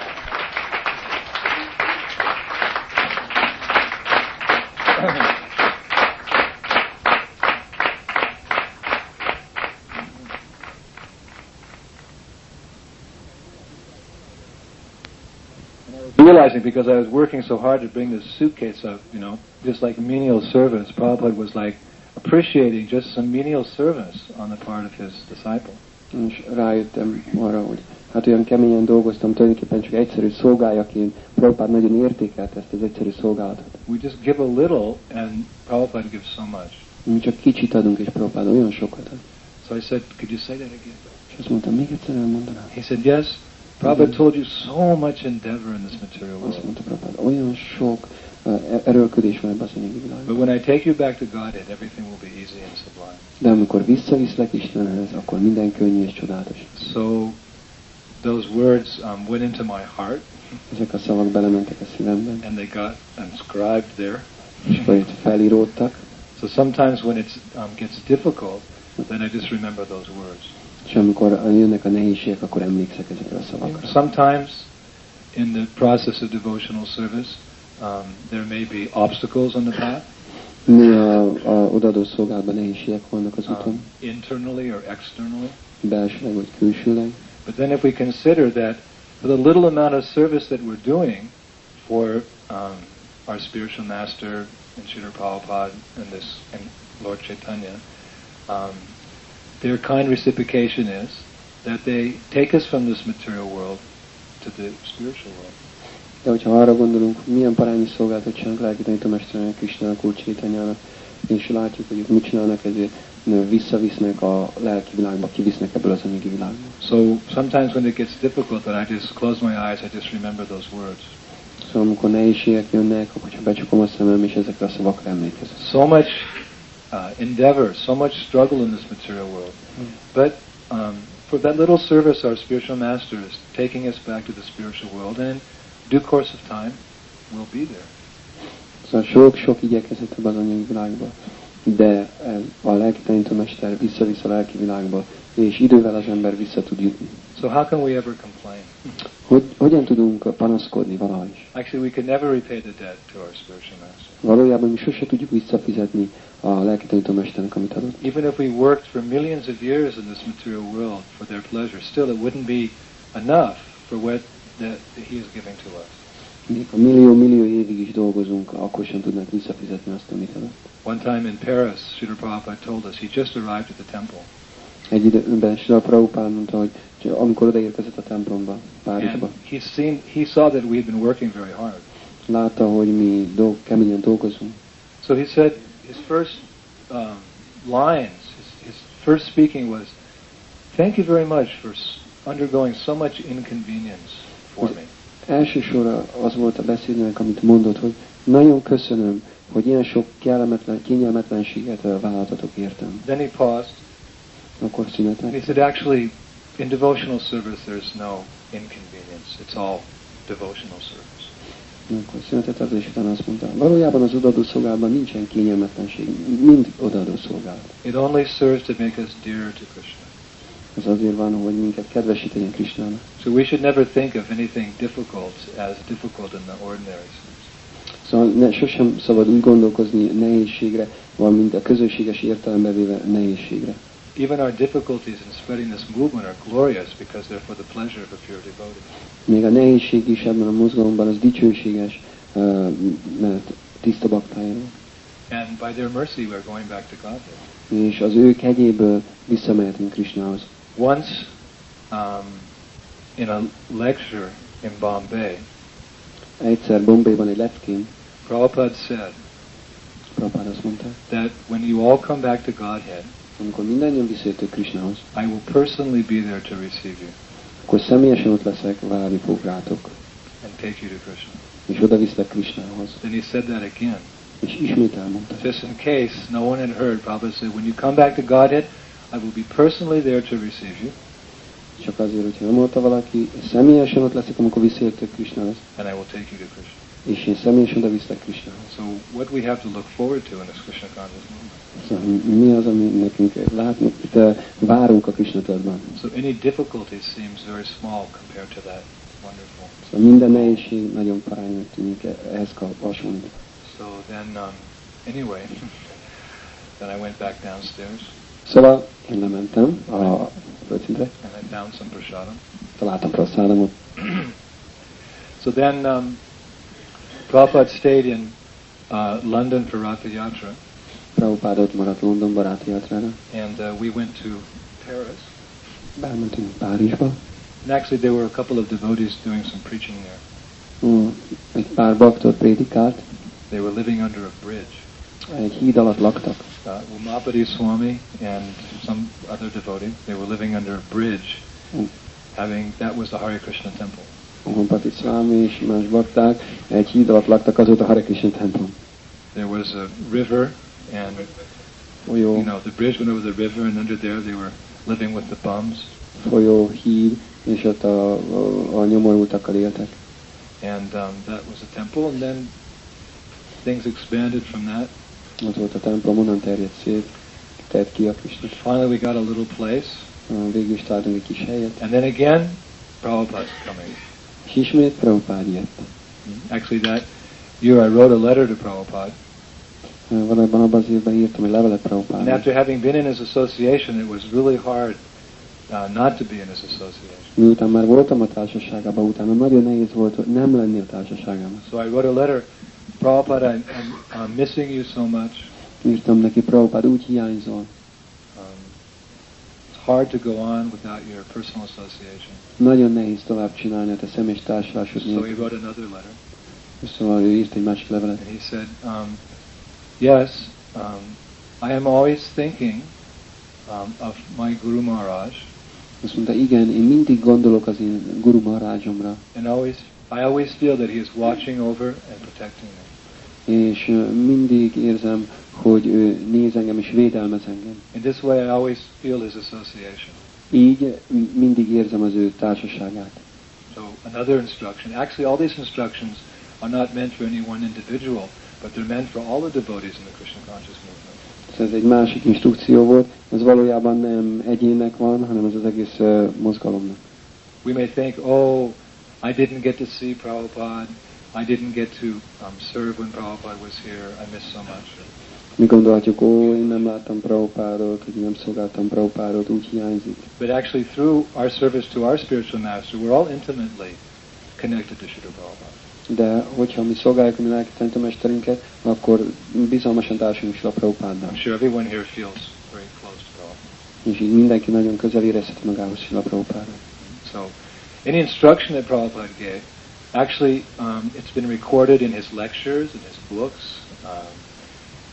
Realizing, because I was working so hard to bring this suitcase up, you know, just like menial service, Prabhupada was like appreciating just some menial service on the part of his disciple. És rájöttem arra, hogy hát olyan keményen dolgoztam, tulajdonképpen csak egyszerű szolgájaként. Prabhupád nagyon értékelt ezt az egyszerű szolgálatot. We just give a little, and Prabhupada gives so much. Mi csak kicsit adunk, és Prabhupád olyan sokat ad. So I said, could you say that again? És azt mondtam, még egyszer elmondanám. He said, yes. Prabhupada told you so much endeavor in this material Azt world. mondta Prabhupád, olyan sok erőlködés van ebben az anyagi világban. But when I take you back to Godhead, everything will be easy and sublime. De amikor visszaviszlek Istenhez, akkor minden könnyű és csodálatos. So those words went into my heart. Ezek a szavak belementek a szívemben, And they got inscribed there. és akkor itt felíródtak. So sometimes when it gets difficult, then I just remember those words. És amikor jönnek a nehézségek, akkor emlékszek ezekre a szavakra. Sometimes in the process of devotional service, there may be obstacles on the path. Néha a odaadó szolgálatban nehézségek vannak az úton, Internally or externally. belsőleg vagy külsőleg. But then if we consider that for the little amount of service that we're doing for our spiritual master and Srila Prabhupada and Lord Chaitanya, their kind reciprocation is that they take us from this material world to the spiritual world. De hogyha arra gondolunk, milyen parányi szolgálatot csinálnak lelki tanítómesternek, Krisnának, Úr Chaitanyának, és látjuk, hogy ők mit csinálnak, ezért visszavisznek a lelki világba, kivisznek ebből az anyagi világba. So sometimes when it gets difficult, that I just close my eyes, I just remember those words. Szóval amikor nehézségek jönnek, akkor csak becsukom a szemem, és ezekre a szavakra emlékezem. So much endeavor, so much struggle in this material world. But for that little service, our spiritual master is taking us back to the spiritual world, and in due course of time, we'll be there. Szóval sok igyekezett ebben az anyagi világba, de a lelki tanítómester visszavisz a lelki világba, és idővel az ember vissza tud jutni. So how can we ever complain? Hogyan tudunk panaszkodni valaha is? Actually, we can never repay the debt to our spiritual master. Valójában mi sose tudjuk visszafizetni a lelki tanítómesternek, amit adott. Even if we worked for millions of years in this material world for their pleasure, still it wouldn't be enough for what that he is giving to us. Még a millió évig is dolgozunk, akkor sem tudnak visszafizetni azt, amit adott. One time in Paris, Srila Prabhupada told us he just arrived at the temple. Egy időben Srila Prabhupada mondta, hogy amikor odaérkezett a templomba, Párizsba, And he saw that we had been working very hard. látta, hogy mi keményen dolgozunk. So he said his first lines, his first speaking was, "Thank you very much for undergoing so much inconvenience for me." Első sorra az volt a beszédnek, amit mondott, hogy nagyon köszönöm, hogy ilyen sok kényelmetlenséget vállaltatok értem. Then he paused. Akkor And he szünetelt. said, actually, in devotional service there's no inconvenience. It's all devotional service. Akkor szünetelt, és utána azt mondta, valójában az odaadó szolgálatban nincsen kényelmetlenség, mind odaadó szolgálat. It only serves to make us dearer to Krishna. Ez azért van, hogy minket kedvesítegyen Krisnának. So we should never think of anything difficult as difficult in the ordinary sense. Szóval sosem szabad úgy gondolkozni nehézségre, valamint a közösséges értelembe véve nehézségre. Even our difficulties in spreading this movement are glorious because they're for the pleasure of a pure devotee. Még a nehézség is ebben a mozgalomban az dicsőséges, mert tiszta baktájáról. And by their mercy we're going back to Godhead. És az ő kegyéből visszamehetünk Krisnához. Once in a lecture in Bombay, Egyszer Bombayban egy leckén, Prabhupada said Prabhupád azt mondta, that when you all come back to Godhead, amikor mindannyian visszajöttök Krisnához, I will personally be there to receive you akkor személyesen ott leszek, várni fog rátok, and take you to Krishna. és oda viszlek Krisnához. Then he said that again. És ismét elmondta. Just in case no one had heard, Prabhupada said, when you come back to Godhead, I will be personally there to receive you, Csak azért, hogyha nem mondta valaki, személyesen ott leszek, amikor visszajöttök Krisnához, and I will take you to Krishna. és én személyesen oda viszlek Krisnához. So what we have to look forward to in this Krishna conscious movement. Szóval mi az, ami nekünk látni, itt várunk a Krishna tudatban. So any difficulty seems very small compared to that wonderful. Szóval minden nehézség nagyon paránynak tűnik ehhez hasonlít. So then, anyway, then I went back downstairs Szóval én lementem a földszintre, and I found some prasadam. találtam praszádomot. So then Prabhupada stayed in London for Ratha Yatra, Prabhupád ott maradt Londonba, Ráti Jatrára. and we went to Paris. Bementünk Párizsba. And actually there were a couple of devotees doing some preaching there. Egy pár baktot prédikált, They were living under a bridge. egy híd alatt laktak. Umapati Swami and some other devotee, they were living under a bridge, that was the Hare Krishna temple. Umpati Swami és más bakták egy híd alatt laktak, az volt a Hare Krishna templom. There was a river, and Folyó, the bridge went over the river, and under there they were living with the bums. folyó, híd, és ott a nyomorultakkal éltek. And that was a temple, and then things expanded from that. Ott volt a templom, onnan terjedt szét, tett ki a Krishna. Finally we got a little place, Végül is találtunk egy kis helyet, and then again Prabhupada's coming. és ismét Prabhupád jött. Actually that year I wrote a letter to Prabhupada, Valójában abban az évben írtam egy levelet and Prabhupádnak. after having been in his association, it was really hard not to be in his association. Miután már voltam a társaságában, utána nagyon nehéz volt nem lenni a társaságában. So I wrote a letter, Prabhupada, I'm missing you so much. Írtam neki, Prabhupád, úgy hiányzol. It's hard to go on without your personal association. Nagyon nehéz tovább csinálni a te személyes társulásod So he nélkül. wrote another letter, Szóval ő írt egy másik levelet. and he said, yes, I am always thinking of my Guru Maharaj, Azt mondta, igen, én mindig gondolok az én Guru Maharajomra, and I always feel that he is watching over and protecting me. és mindig érzem, hogy ő néz engem és védelmez engem. In this way, I always feel his association. Így mindig érzem az ő társaságát. So another instruction. Actually, all these instructions are not meant for any one individual, but they're meant for all the devotees in the Krishna conscious movement. Ez egy másik instrukció volt, ez valójában nem egyének van, hanem ez az egész mozgalomnak. We may think, oh, I didn't get to see Prabhupada, I didn't get to serve when Prabhupada was here, I missed so much. Mi gondolhatjuk, én nem láttam Prabhupádot, hogy nem szolgáltam Prabhupádot, úgy hiányzik. But actually, through our service to our spiritual master, we're all intimately connected to Srila Prabhupada. De hogyha mi szolgáljuk a mi lelki tanítómesterünket, akkor bizalmasan társulunk is a Prabhupádnak. I'm sure everyone here feels very close to Prabhupada. És így mindenki nagyon közel érezheti magához Srila Prabhupádnak. So, any instruction that Prabhupada gave, actually, it's been recorded in his lectures, in his books,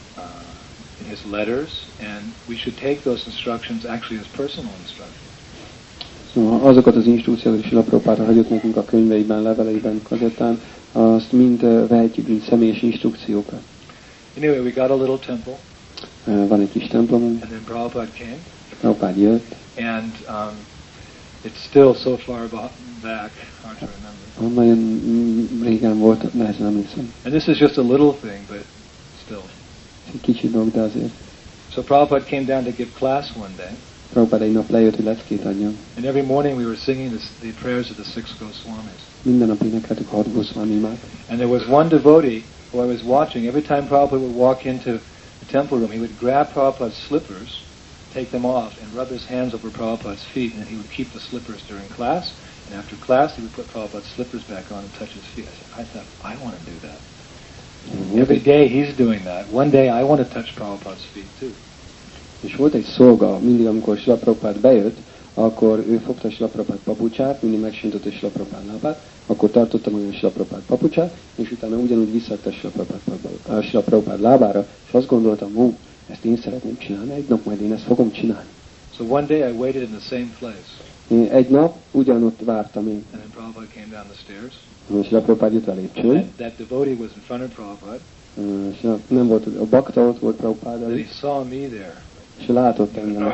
in his letters, and we should take those instructions actually as personal instructions. Szóval azokat az instrukciókat is Srila Prabhupáda hagyott nekünk a könyveiben, leveleiben, kazettán, azt mind vehetjük, mint személyes instrukciókat. Anyway, we got a little temple. Van egy kis templomunk. And then Prabhupada came. Prabhupád jött. And it's still so far back, hard to remember. Nagyon régen volt, nehezen emlékszem. And this is just a little thing, but still. Egy kicsi dolog, de azért. So Prabhupada came down to give class one day. Prabhupád egy nap lejött, hogy leckét adjon. And every morning we were singing the prayers of the 6 Goswamis. Minden nap énekeltük 6 Goswami imát. And there was one devotee who I was watching. Every time Prabhupada would walk into the temple room, he would grab Prabhupada's slippers, take them off, and rub his hands over Prabhupada's feet, and then he would keep the slippers during class. And after class, he would put Prabhupada's slippers back on and touch his feet. I thought, I want to do that. Every day he's doing that. One day I want to touch Prabhupada's feet too. És volt egy szolga, mindig amikor Srila Prabhupád bejött, akkor ő fogta Srila Prabhupád papucsát, mindig megsintott Srila Prabhupád lábát, akkor tartotta magam Srila Prabhupád papucsát, és utána ugyanúgy visszaadta Srila Prabhupád lábára, és azt gondoltam, ezt én szeretném csinálni, egy nap majd én ezt fogom csinálni. So one day I waited in the same place. Én egy nap ugyanott vártam én. And then Prabhupada came down the stairs. Srila Prabhupád jött a lépcsőn. That devotee was in front of Prabhupada. Nem volt, a bakta ott volt Prabhupád And előtt. he saw me there. És látott engem.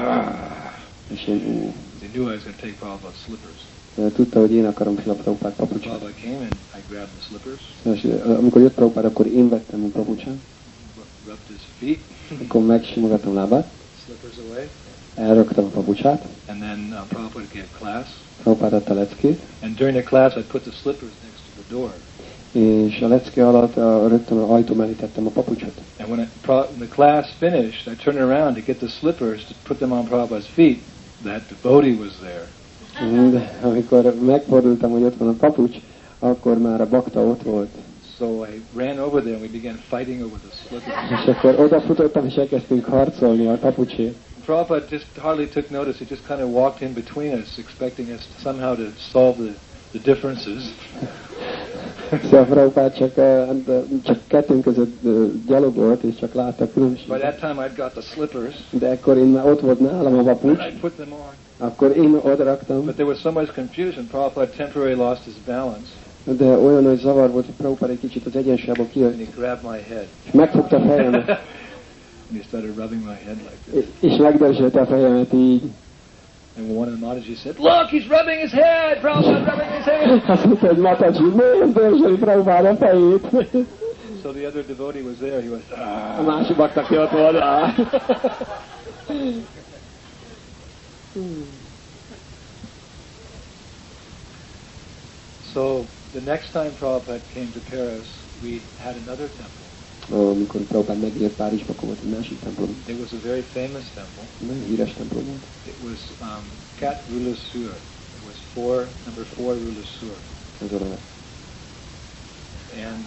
És én, He knew I was going to take Prabhupada's slippers. tudta, hogy én akarom Srila Prabhupád papucsát. Prabhupada came and I grabbed the slippers. És amikor jött Prabhupád, akkor én vettem a papucsát. Rubbed his feet. Akkor megsimogattam lábát. Slippers away. Elraktam a papucsát. And then Prabhupada gave class. Prabhupád adta a leckét. And during the class I put the slippers next to the door. És a lecke alatt rögtön az ajtó mellé tettem a papucsot. And when the class finished, I turned around to get the slippers to put them on Prabhupada's feet. That devotee was there. De amikor megfordultam, hogy ott van a papucs, akkor már a bakta ott volt. So I ran over there and we began fighting over the slippers. És akkor odafutottam, és elkezdtünk harcolni a papucsért. Prabhupada just hardly took notice. He just kind of walked in between us, expecting us somehow to solve the differences. Szóval Prabhupád csak kettőnk között gyalogolt, és csak látta a különbséget. By that time I'd got the slippers. De akkor én már ott volt nálam a papucs. And I put them on. Akkor én odaraktam. But there was so much confusion. Prabhupada temporarily lost his balance. De olyan nagy zavar volt, hogy Prabhupád egy kicsit az egyensúlyából kijött. And he grabbed my head. És megfogta a fejemet. And he started rubbing my head like this. És megdörzsölte a fejemet így. And one of the Mataji said, "Look, he's rubbing his head! Prabhupada rubbing his head!" Azt mondta, hogy Mataji, miért dörzsöli Prabhupád a fejét? So the other devotee was there. He was, A másik bakta ki ott volt. So the next time Prabhupada came to Paris, we had another temple. Amikor Prabhupád megjött Párizsba, akkor volt egy másik templom. It was a very famous temple. Nagyon híres templom volt. It was 4 Rue Le Sueur. It was number 4 Rue Le Sueur. Ez a neve. And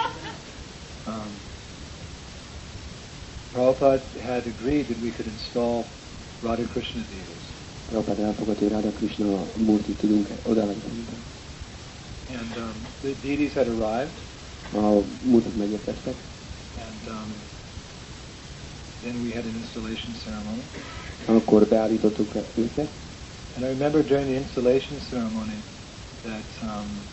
Prabhupada had agreed that we could install Radha Krishna deities. Prabhupád elfogadta, hogy Radha Krishna Murti tudunk odaállítani. And the deities had arrived. A Murtik megérkeztek. And then we had an installation ceremony. Akkor beállítottuk őket. And I remember during the installation ceremony that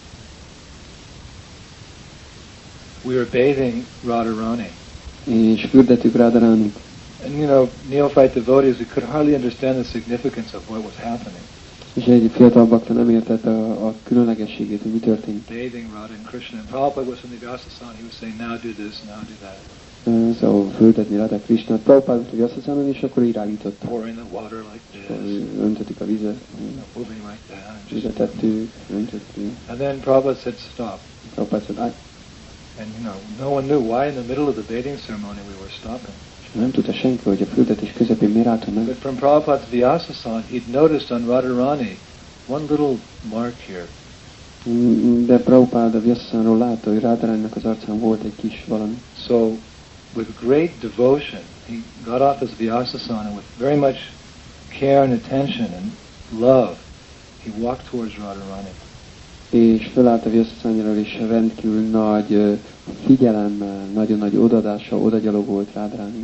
we were bathing Radharani. És fürdettük Radharánit. And you know, neophyte devotees, we could hardly understand the significance of what was happening. És egy fiatal bakta nem értette a különlegességét, hogy mi történt. Bathing Radha and Krishna. And Prabhupada was from the Vyasasana. He was saying, now do this, now do that. Szóval fürdetni Radha Krishna. Prabhupád volt a Vyasasana, és akkor irányított. Pouring the water like this. Öntöttük a vizet. Moving like that. Fizetettük, öntöttük. And then Prabhupada said, stop. Prabhupád szólt, And you know, no one knew why in the middle of the bathing ceremony we were stopping. nem tudta senki, hogy a fürdetés közepén miért álltunk meg. But from Prabhupada's Vyasasana, he'd noticed on Radharani one little mark here. De Prabhupád a Vyasasánról látta, hogy Radharánynak az arcán volt egy kis valami. So, with great devotion, he got off his Vyasasana with very much care and attention and love. He walked towards Radharani. És fölállt a Vyasasányról, és rendkívül nagy figyelemmel, nagyon nagy odaadással odagyalogolt Radharányhoz.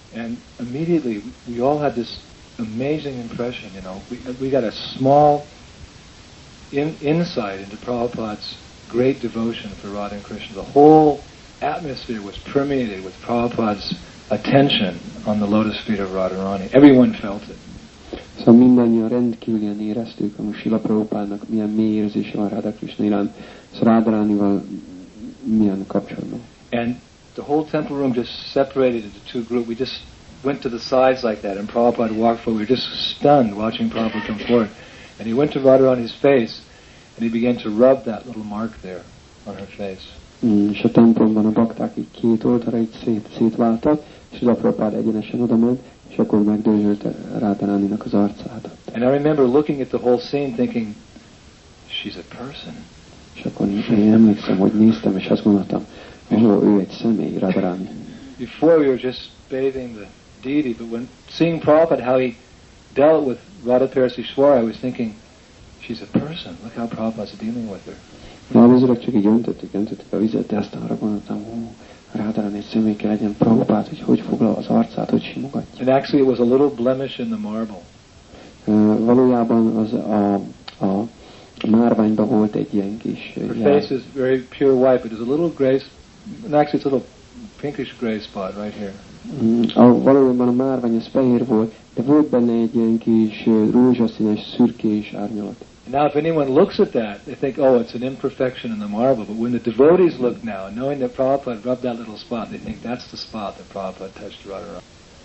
And immediately we all had this amazing impression, you know. We got a small insight into Prabhupada's great devotion for Radha and Krishna. The whole atmosphere was permeated with Prabhupada's attention on the lotus feet of Radharani. Everyone felt it. Szóval mindannyian rendkívülien éreztük, hogy Srila Prabhupádnak milyen mély érzése van Radha Krishna iránt, szóval Radharanival milyen kapcsolatban. And the whole temple room just separated into two groups. We just went to the sides like that, and Prabhupada walked forward. We were just stunned watching Prabhupada come forward. And he went to Radharani's face, and he began to rub that little mark there on her face. És a templomban a bakták így két oldalra így szétváltak, és a Prabhupád egyenesen oda ment, és akkor megdőzsölte Radharaninak az arcát. And I remember looking at the whole scene thinking, she's a person. És akkor én emlékszem, hogy néztem, és azt gondoltam, ő egy személy, Radharani. Before we were just bathing the deity, but when seeing Prabhupada, how he dealt with Radha Parasishwara, I was thinking, she's a person. Look how Prabhupada's dealing with her. Előzőleg csak így öntöttük a vizet, de aztán arra gondoltam, Radharani egy személy kell legyen Prabhupád, hogy foglal az arcát, hogy simogatja. And actually it was a little blemish in the marble. Valójában az a márványban volt egy ilyen kis Her face is very pure white, but there's a little gray, and actually it's a little pinkish gray spot right here. Valójában a márvány az fehér volt, de volt benne egy ilyen kis rózsaszínes, szürkés árnyalat. Now if anyone looks at that, they think, oh, it's an imperfection in the marble. But when the devotees look now, knowing that Prabhupada rubbed that little spot, they think that's the spot that Prabhupada touched Radharani.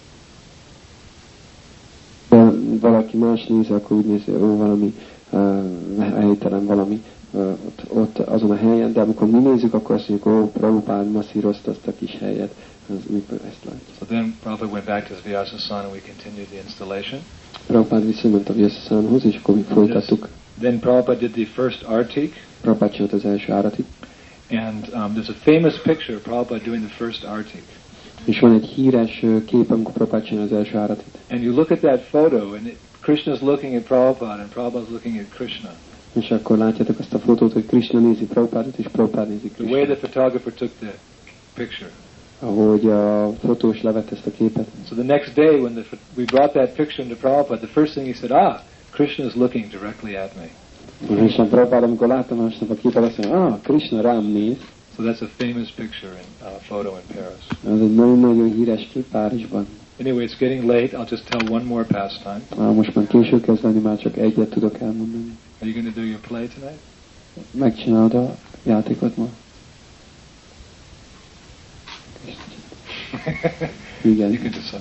Valaki más néz, akkor úgy nézi, valami helytelen valami ott azon a helyen, de amikor mi nézzük, akkor azt mondjuk, Prabhupád masszírozta azt a kis helyet, az úgy ezt látja. So then Prabhupada went back to his Vyasasana and we continued the installation. Prabhupád visszament a Vyasasanahoz, és akkor mi folytattuk. Then Prabhupada did the first artik. Prabhupada csinált az első áratit. And there's a famous picture of Prabhupada doing the first artik. És van egy híres kép, amikor Prabhupada csinál az első áratit. And you look at that photo, and Krishna's looking at Prabhupada, and Prabhupada's looking at Krishna. És akkor látjátok azt a fotót, hogy Krishna nézi Prabhupádot, és Prabhupád nézi The way Krishnát. the photographer took the picture. Ahogy a fotós levett ezt a képet. So the next day, when we brought that picture into Prabhupada, the first thing he said, Krishna is looking directly at me. És a Prabhupád, amikor láttam másnap a képet, azt mondja, Krishna rám néz. So that's a famous picture in photo in Paris. Ez egy nagyon-nagyon híres kép Párizsban. Anyway, it's getting late. I'll just tell one more pastime. Most már késő kezd lenni, már csak egyet tudok elmondani. Are you going to do your play tonight? Megcsinálod a játékot ma? Igen. You can decide.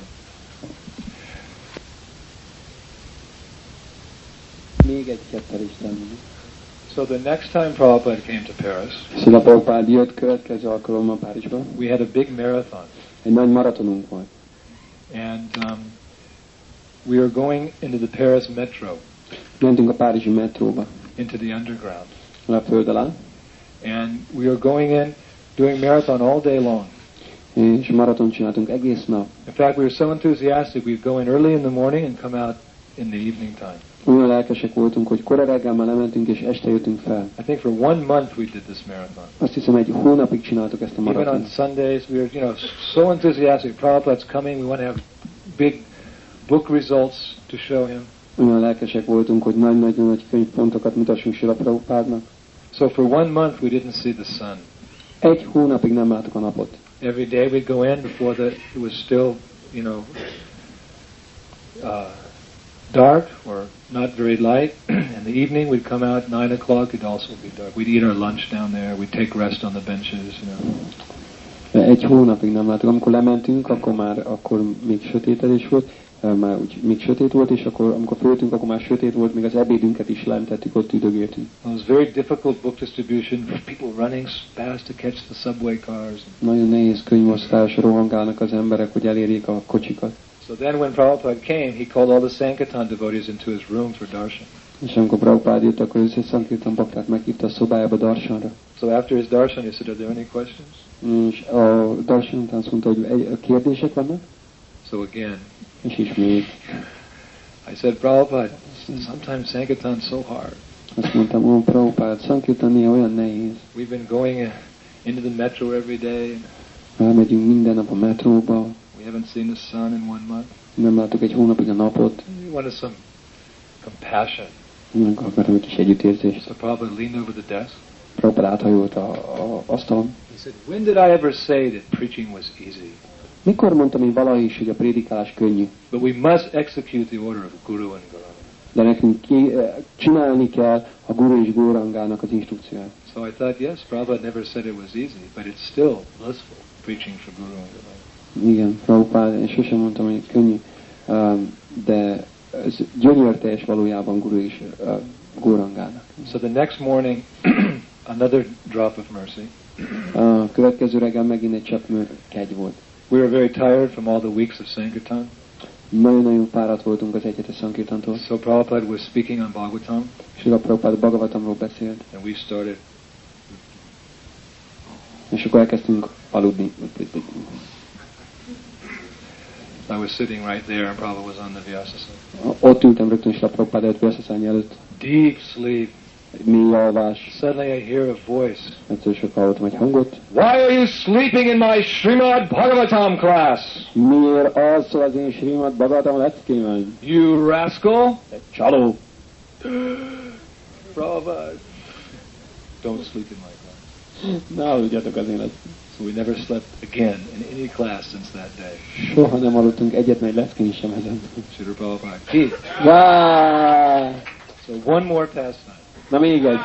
Még egy kettelést elmondani. So the next time Prabhupada came to Paris, Szóval Prabhupád jött következő alkalommal Párizsba. we had a big marathon. Egy nagy maratonunk volt. And we were going into the Paris metro, Mentünk a párizsi metróba, into the underground. a föld alá, And we were going in, doing marathon all day long. és maratont csináltunk egész nap. In fact, we were so enthusiastic, we'd go in early in the morning and come out in the evening time. Olyan lelkesek voltunk, hogy kora reggel már lementünk, és este jöttünk fel. I think for 1 month we did this marathon. Azt hiszem, egy hónapig csináltuk ezt a Even on maratont. Sundays, we were, so enthusiastic. Prabhupada's coming, we want to have big book results to show him. Olyan lelkesek voltunk, hogy nagy könyvpontokat mutassunk Srila Prabhupádnak. So for 1 month we didn't see the sun. Egy hónapig nem láttuk a napot. Every day we'd go in before it was still, dark or not very light. In the evening we'd come out 9 o'clock, it'd also be dark. We'd eat our lunch down there, we'd take rest on the benches, Egy hónapig nem láttuk. Amikor lementünk, akkor még sötétedés volt, már úgy még sötét volt, és akkor amikor föltünk, akkor már sötét volt, még az ebédünket is lentettük, ott üdögéltünk. It was very difficult book distribution, people running fast to catch the subway cars. Nagyon nehéz könyvosztás, rohangálnak az emberek, hogy elérjék a kocsikat. So then when Prabhupada came, he called all the Sankirtan devotees into his room for darshan. És amikor Prabhupád jött, akkor összes Sankirtan baktát meghívta a szobájába darshanra. So after his darshan, he said, are there any questions? És a darshan után azt mondta, hogy kérdések vannak? So again, és ismét. I said, Prabhupada, sometimes Sankirtan's so hard. Azt mondtam, Prabhupád, Sankirtan néha olyan nehéz. We've been going into the metro every day. Elmegyünk minden nap a metróba. We haven't seen the sun in 1 month. Nem láttuk egy hónapig a napot. We wanted some compassion. Akartam egy kis együttérzést. So Prabhupada leaned over the desk. Prabhupada áthajolt a asztalon. He said, when did I ever say that preaching was easy? Mikor mondtam én valahogy is, hogy a prédikálás könnyű? But we must execute the order of Guru and Gauranga. De nekünk csinálni kell a Guru és Gaurangának az instrukcióját. So I thought, yes, Prabhupada never said it was easy, but it's still blissful preaching for Guru and Gauranga. Igen, Prabhupada, én sosem mondtam, hogy könnyű, de ez gyönyörteljes valójában Guru és Gaurangának. So the next morning, another drop of mercy. A következő reggel megint egy csepp kegy volt. We were very tired from all the weeks of Sankirtan. Nagyon-nagyon fáradt voltunk az egyetes Sankirtantól. So Prabhupada was speaking on Bhagavatam. És a Prabhupada Bhagavatamról beszélt. And we started. És akkor elkezdtünk aludni. I was sitting right there and Prabhupada was on the Vyasasana. Ott ültem rögtön is a Prabhupada előtt Vyasasana előtt. Deep sleep. Mély alvás. Suddenly I hear a voice. Egyszer csak hallottam egy hangot. Why are you sleeping in my Srimad Bhagavatam class? Miért alszol az én Srimad Bhagavatam leckémen? You rascal! Csaló! Prabhupada, don't sleep in my class. Ne aludjatok az élet. So we never slept again in any class since that day. Soha nem aludtunk egyetlen egy leckén sem ezen. Srila Prabhupada. Keep. So one more pastime. Na még egy.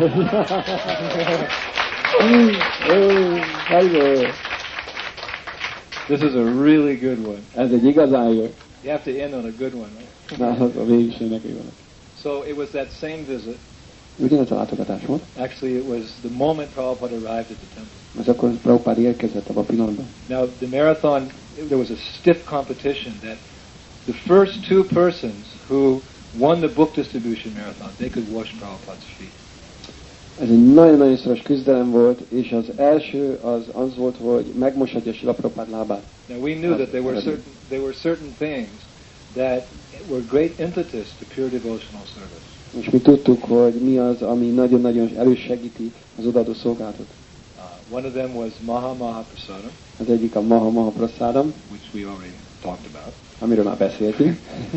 This is a really good one. Ez egy igazán jó. You have to end on a good one, right? Na, az a végsőnek van. So it was that same visit. Ugyanaz a látogatás volt. Actually, it was the moment Prabhupada arrived at the temple. Ez akkor Prabhupada érkezett abban a pillanatban. Now, the marathon, there was a stiff competition that the first two persons who won the book distribution marathon, they could wash Prabhupada's feet. Ez egy nagyon-nagyon szoros küzdelem volt, és az első az volt, hogy megmoshatja Srila Prabhupada lábát. Now we knew that there were certain things that were great impetus to pure devotional service. És mi tudtuk, hogy mi az, ami nagyon-nagyon elősegíti az odaadó szolgálatot. One of them was Maha Maha Prasadam. Az egyik a Maha Maha Prasadam, which we already talked about. Amiről már beszéltünk.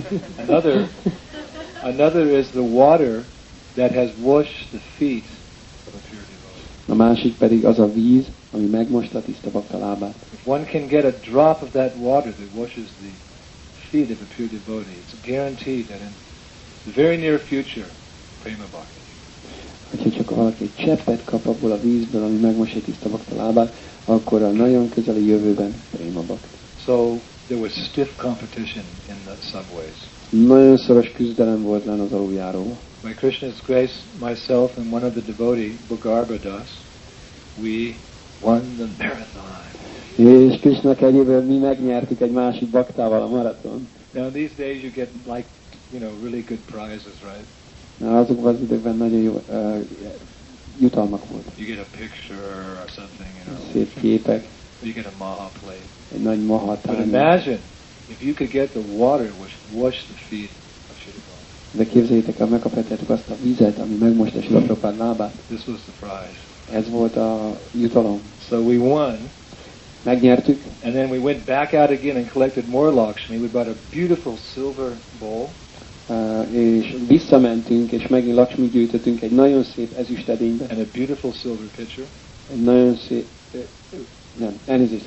Another is the water that has washed the feet of a pure devotee. A másik pedig az a víz, ami megmosta a tiszta bakta lábát. If one can get a drop of that water that washes the feet of a pure devotee, it's guaranteed that in the very near future, prema bhakti. Hogyha csak valaki egy cseppet kap abból a vízből, ami megmosja tiszta bakta lábát, akkor a nagyon közeli jövőben prema bhakti. So there was stiff competition in the subways. Nagyon szoros küzdelem volt lenne az aluljáróban. By Krishna's grace, myself and one of the devotee, Bhagarbha Das, we won the marathon. És Krishna kegyéből mi megnyertük egy másik baktával a maraton. Now these days you get like, really good prizes, right? Na, azokban az időkben nagyon jó jutalmak voltak. You get a picture or something, Szép képek. You get a maha plate. Egy nagy maha But tányér. imagine if you could get the water which washed the feet of Srila Prabhupada. De képzeljétek el, megkaphatjátok azt a vizet, ami megmosta Srila Prabhupada lábát. This was the prize. Ez volt a jutalom. So we won. Megnyertük. And then we went back out again and collected more Lakshmi. We bought a beautiful silver bowl. És visszamentünk, és megint Lakshmi gyűjtöttünk egy nagyon szép ezüstedénybe. And a beautiful silver pitcher. Egy nagyon szép... elnézést.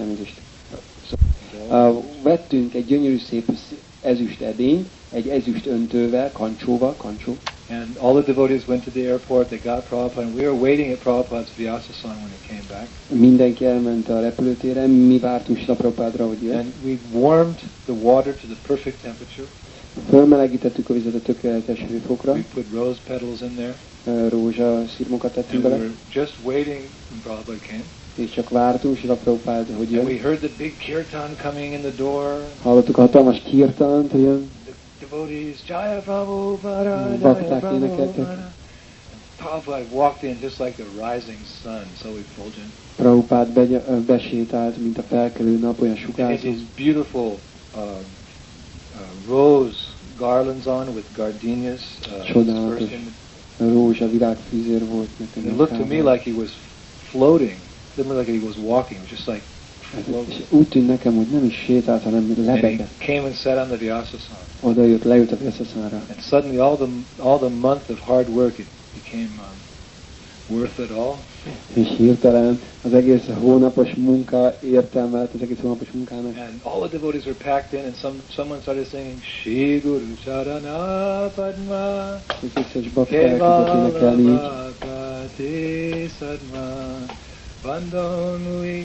Vettünk egy gyönyörű szép ezüstedényt, egy ezüst öntővel, kancsó. And all the devotees went to the airport, they got Prabhupada, and we were waiting at Prabhupada's Vyasasana when he came back. Mindenki elment a repülőtérre, mi vártunk Srila Prabhupádra, hogy jön. And we warmed the water to the perfect temperature. Fölmelegítettük a vizet a tökéletes hőfokra. We put rose petals in there. Rózsaszirmokat tettünk And we bele. were just waiting when Prabhupada came. És csak vártunk Srila Prabhupád, hogy And we jön. heard the big kirtan coming in the door. Hallottuk a hatalmas kirtant, hogy jön. The devotees, Jaya Prabhupada, Bakták Jaya énekeltek. Prabhupada. Prabhupada walked in just like the rising sun, so effulgent. Prabhupád besétált, mint a felkelő nap, olyan He had sugárzó. these beautiful rose garlands on with gardenias. Csodálatos rózsa virágfűzér volt. It looked to me like he was floating. It didn't look like he was walking. It was just like És úgy tűnt nekem, hogy nem is sétált, hanem And he lebegett. came and sat on the Vyasasana. Oda jött, leült a Vyasasana-ra. And suddenly all the month of hard work, it became worth it all. És hirtelen az egész hónapos munka értelme lett az egész hónapos munkának. And all the devotees were packed in, and someone started singing Shri Guru Charana Padma Az összes bakta elkezdett énekelni így. Kevala Bhakti Sadma Bandhanui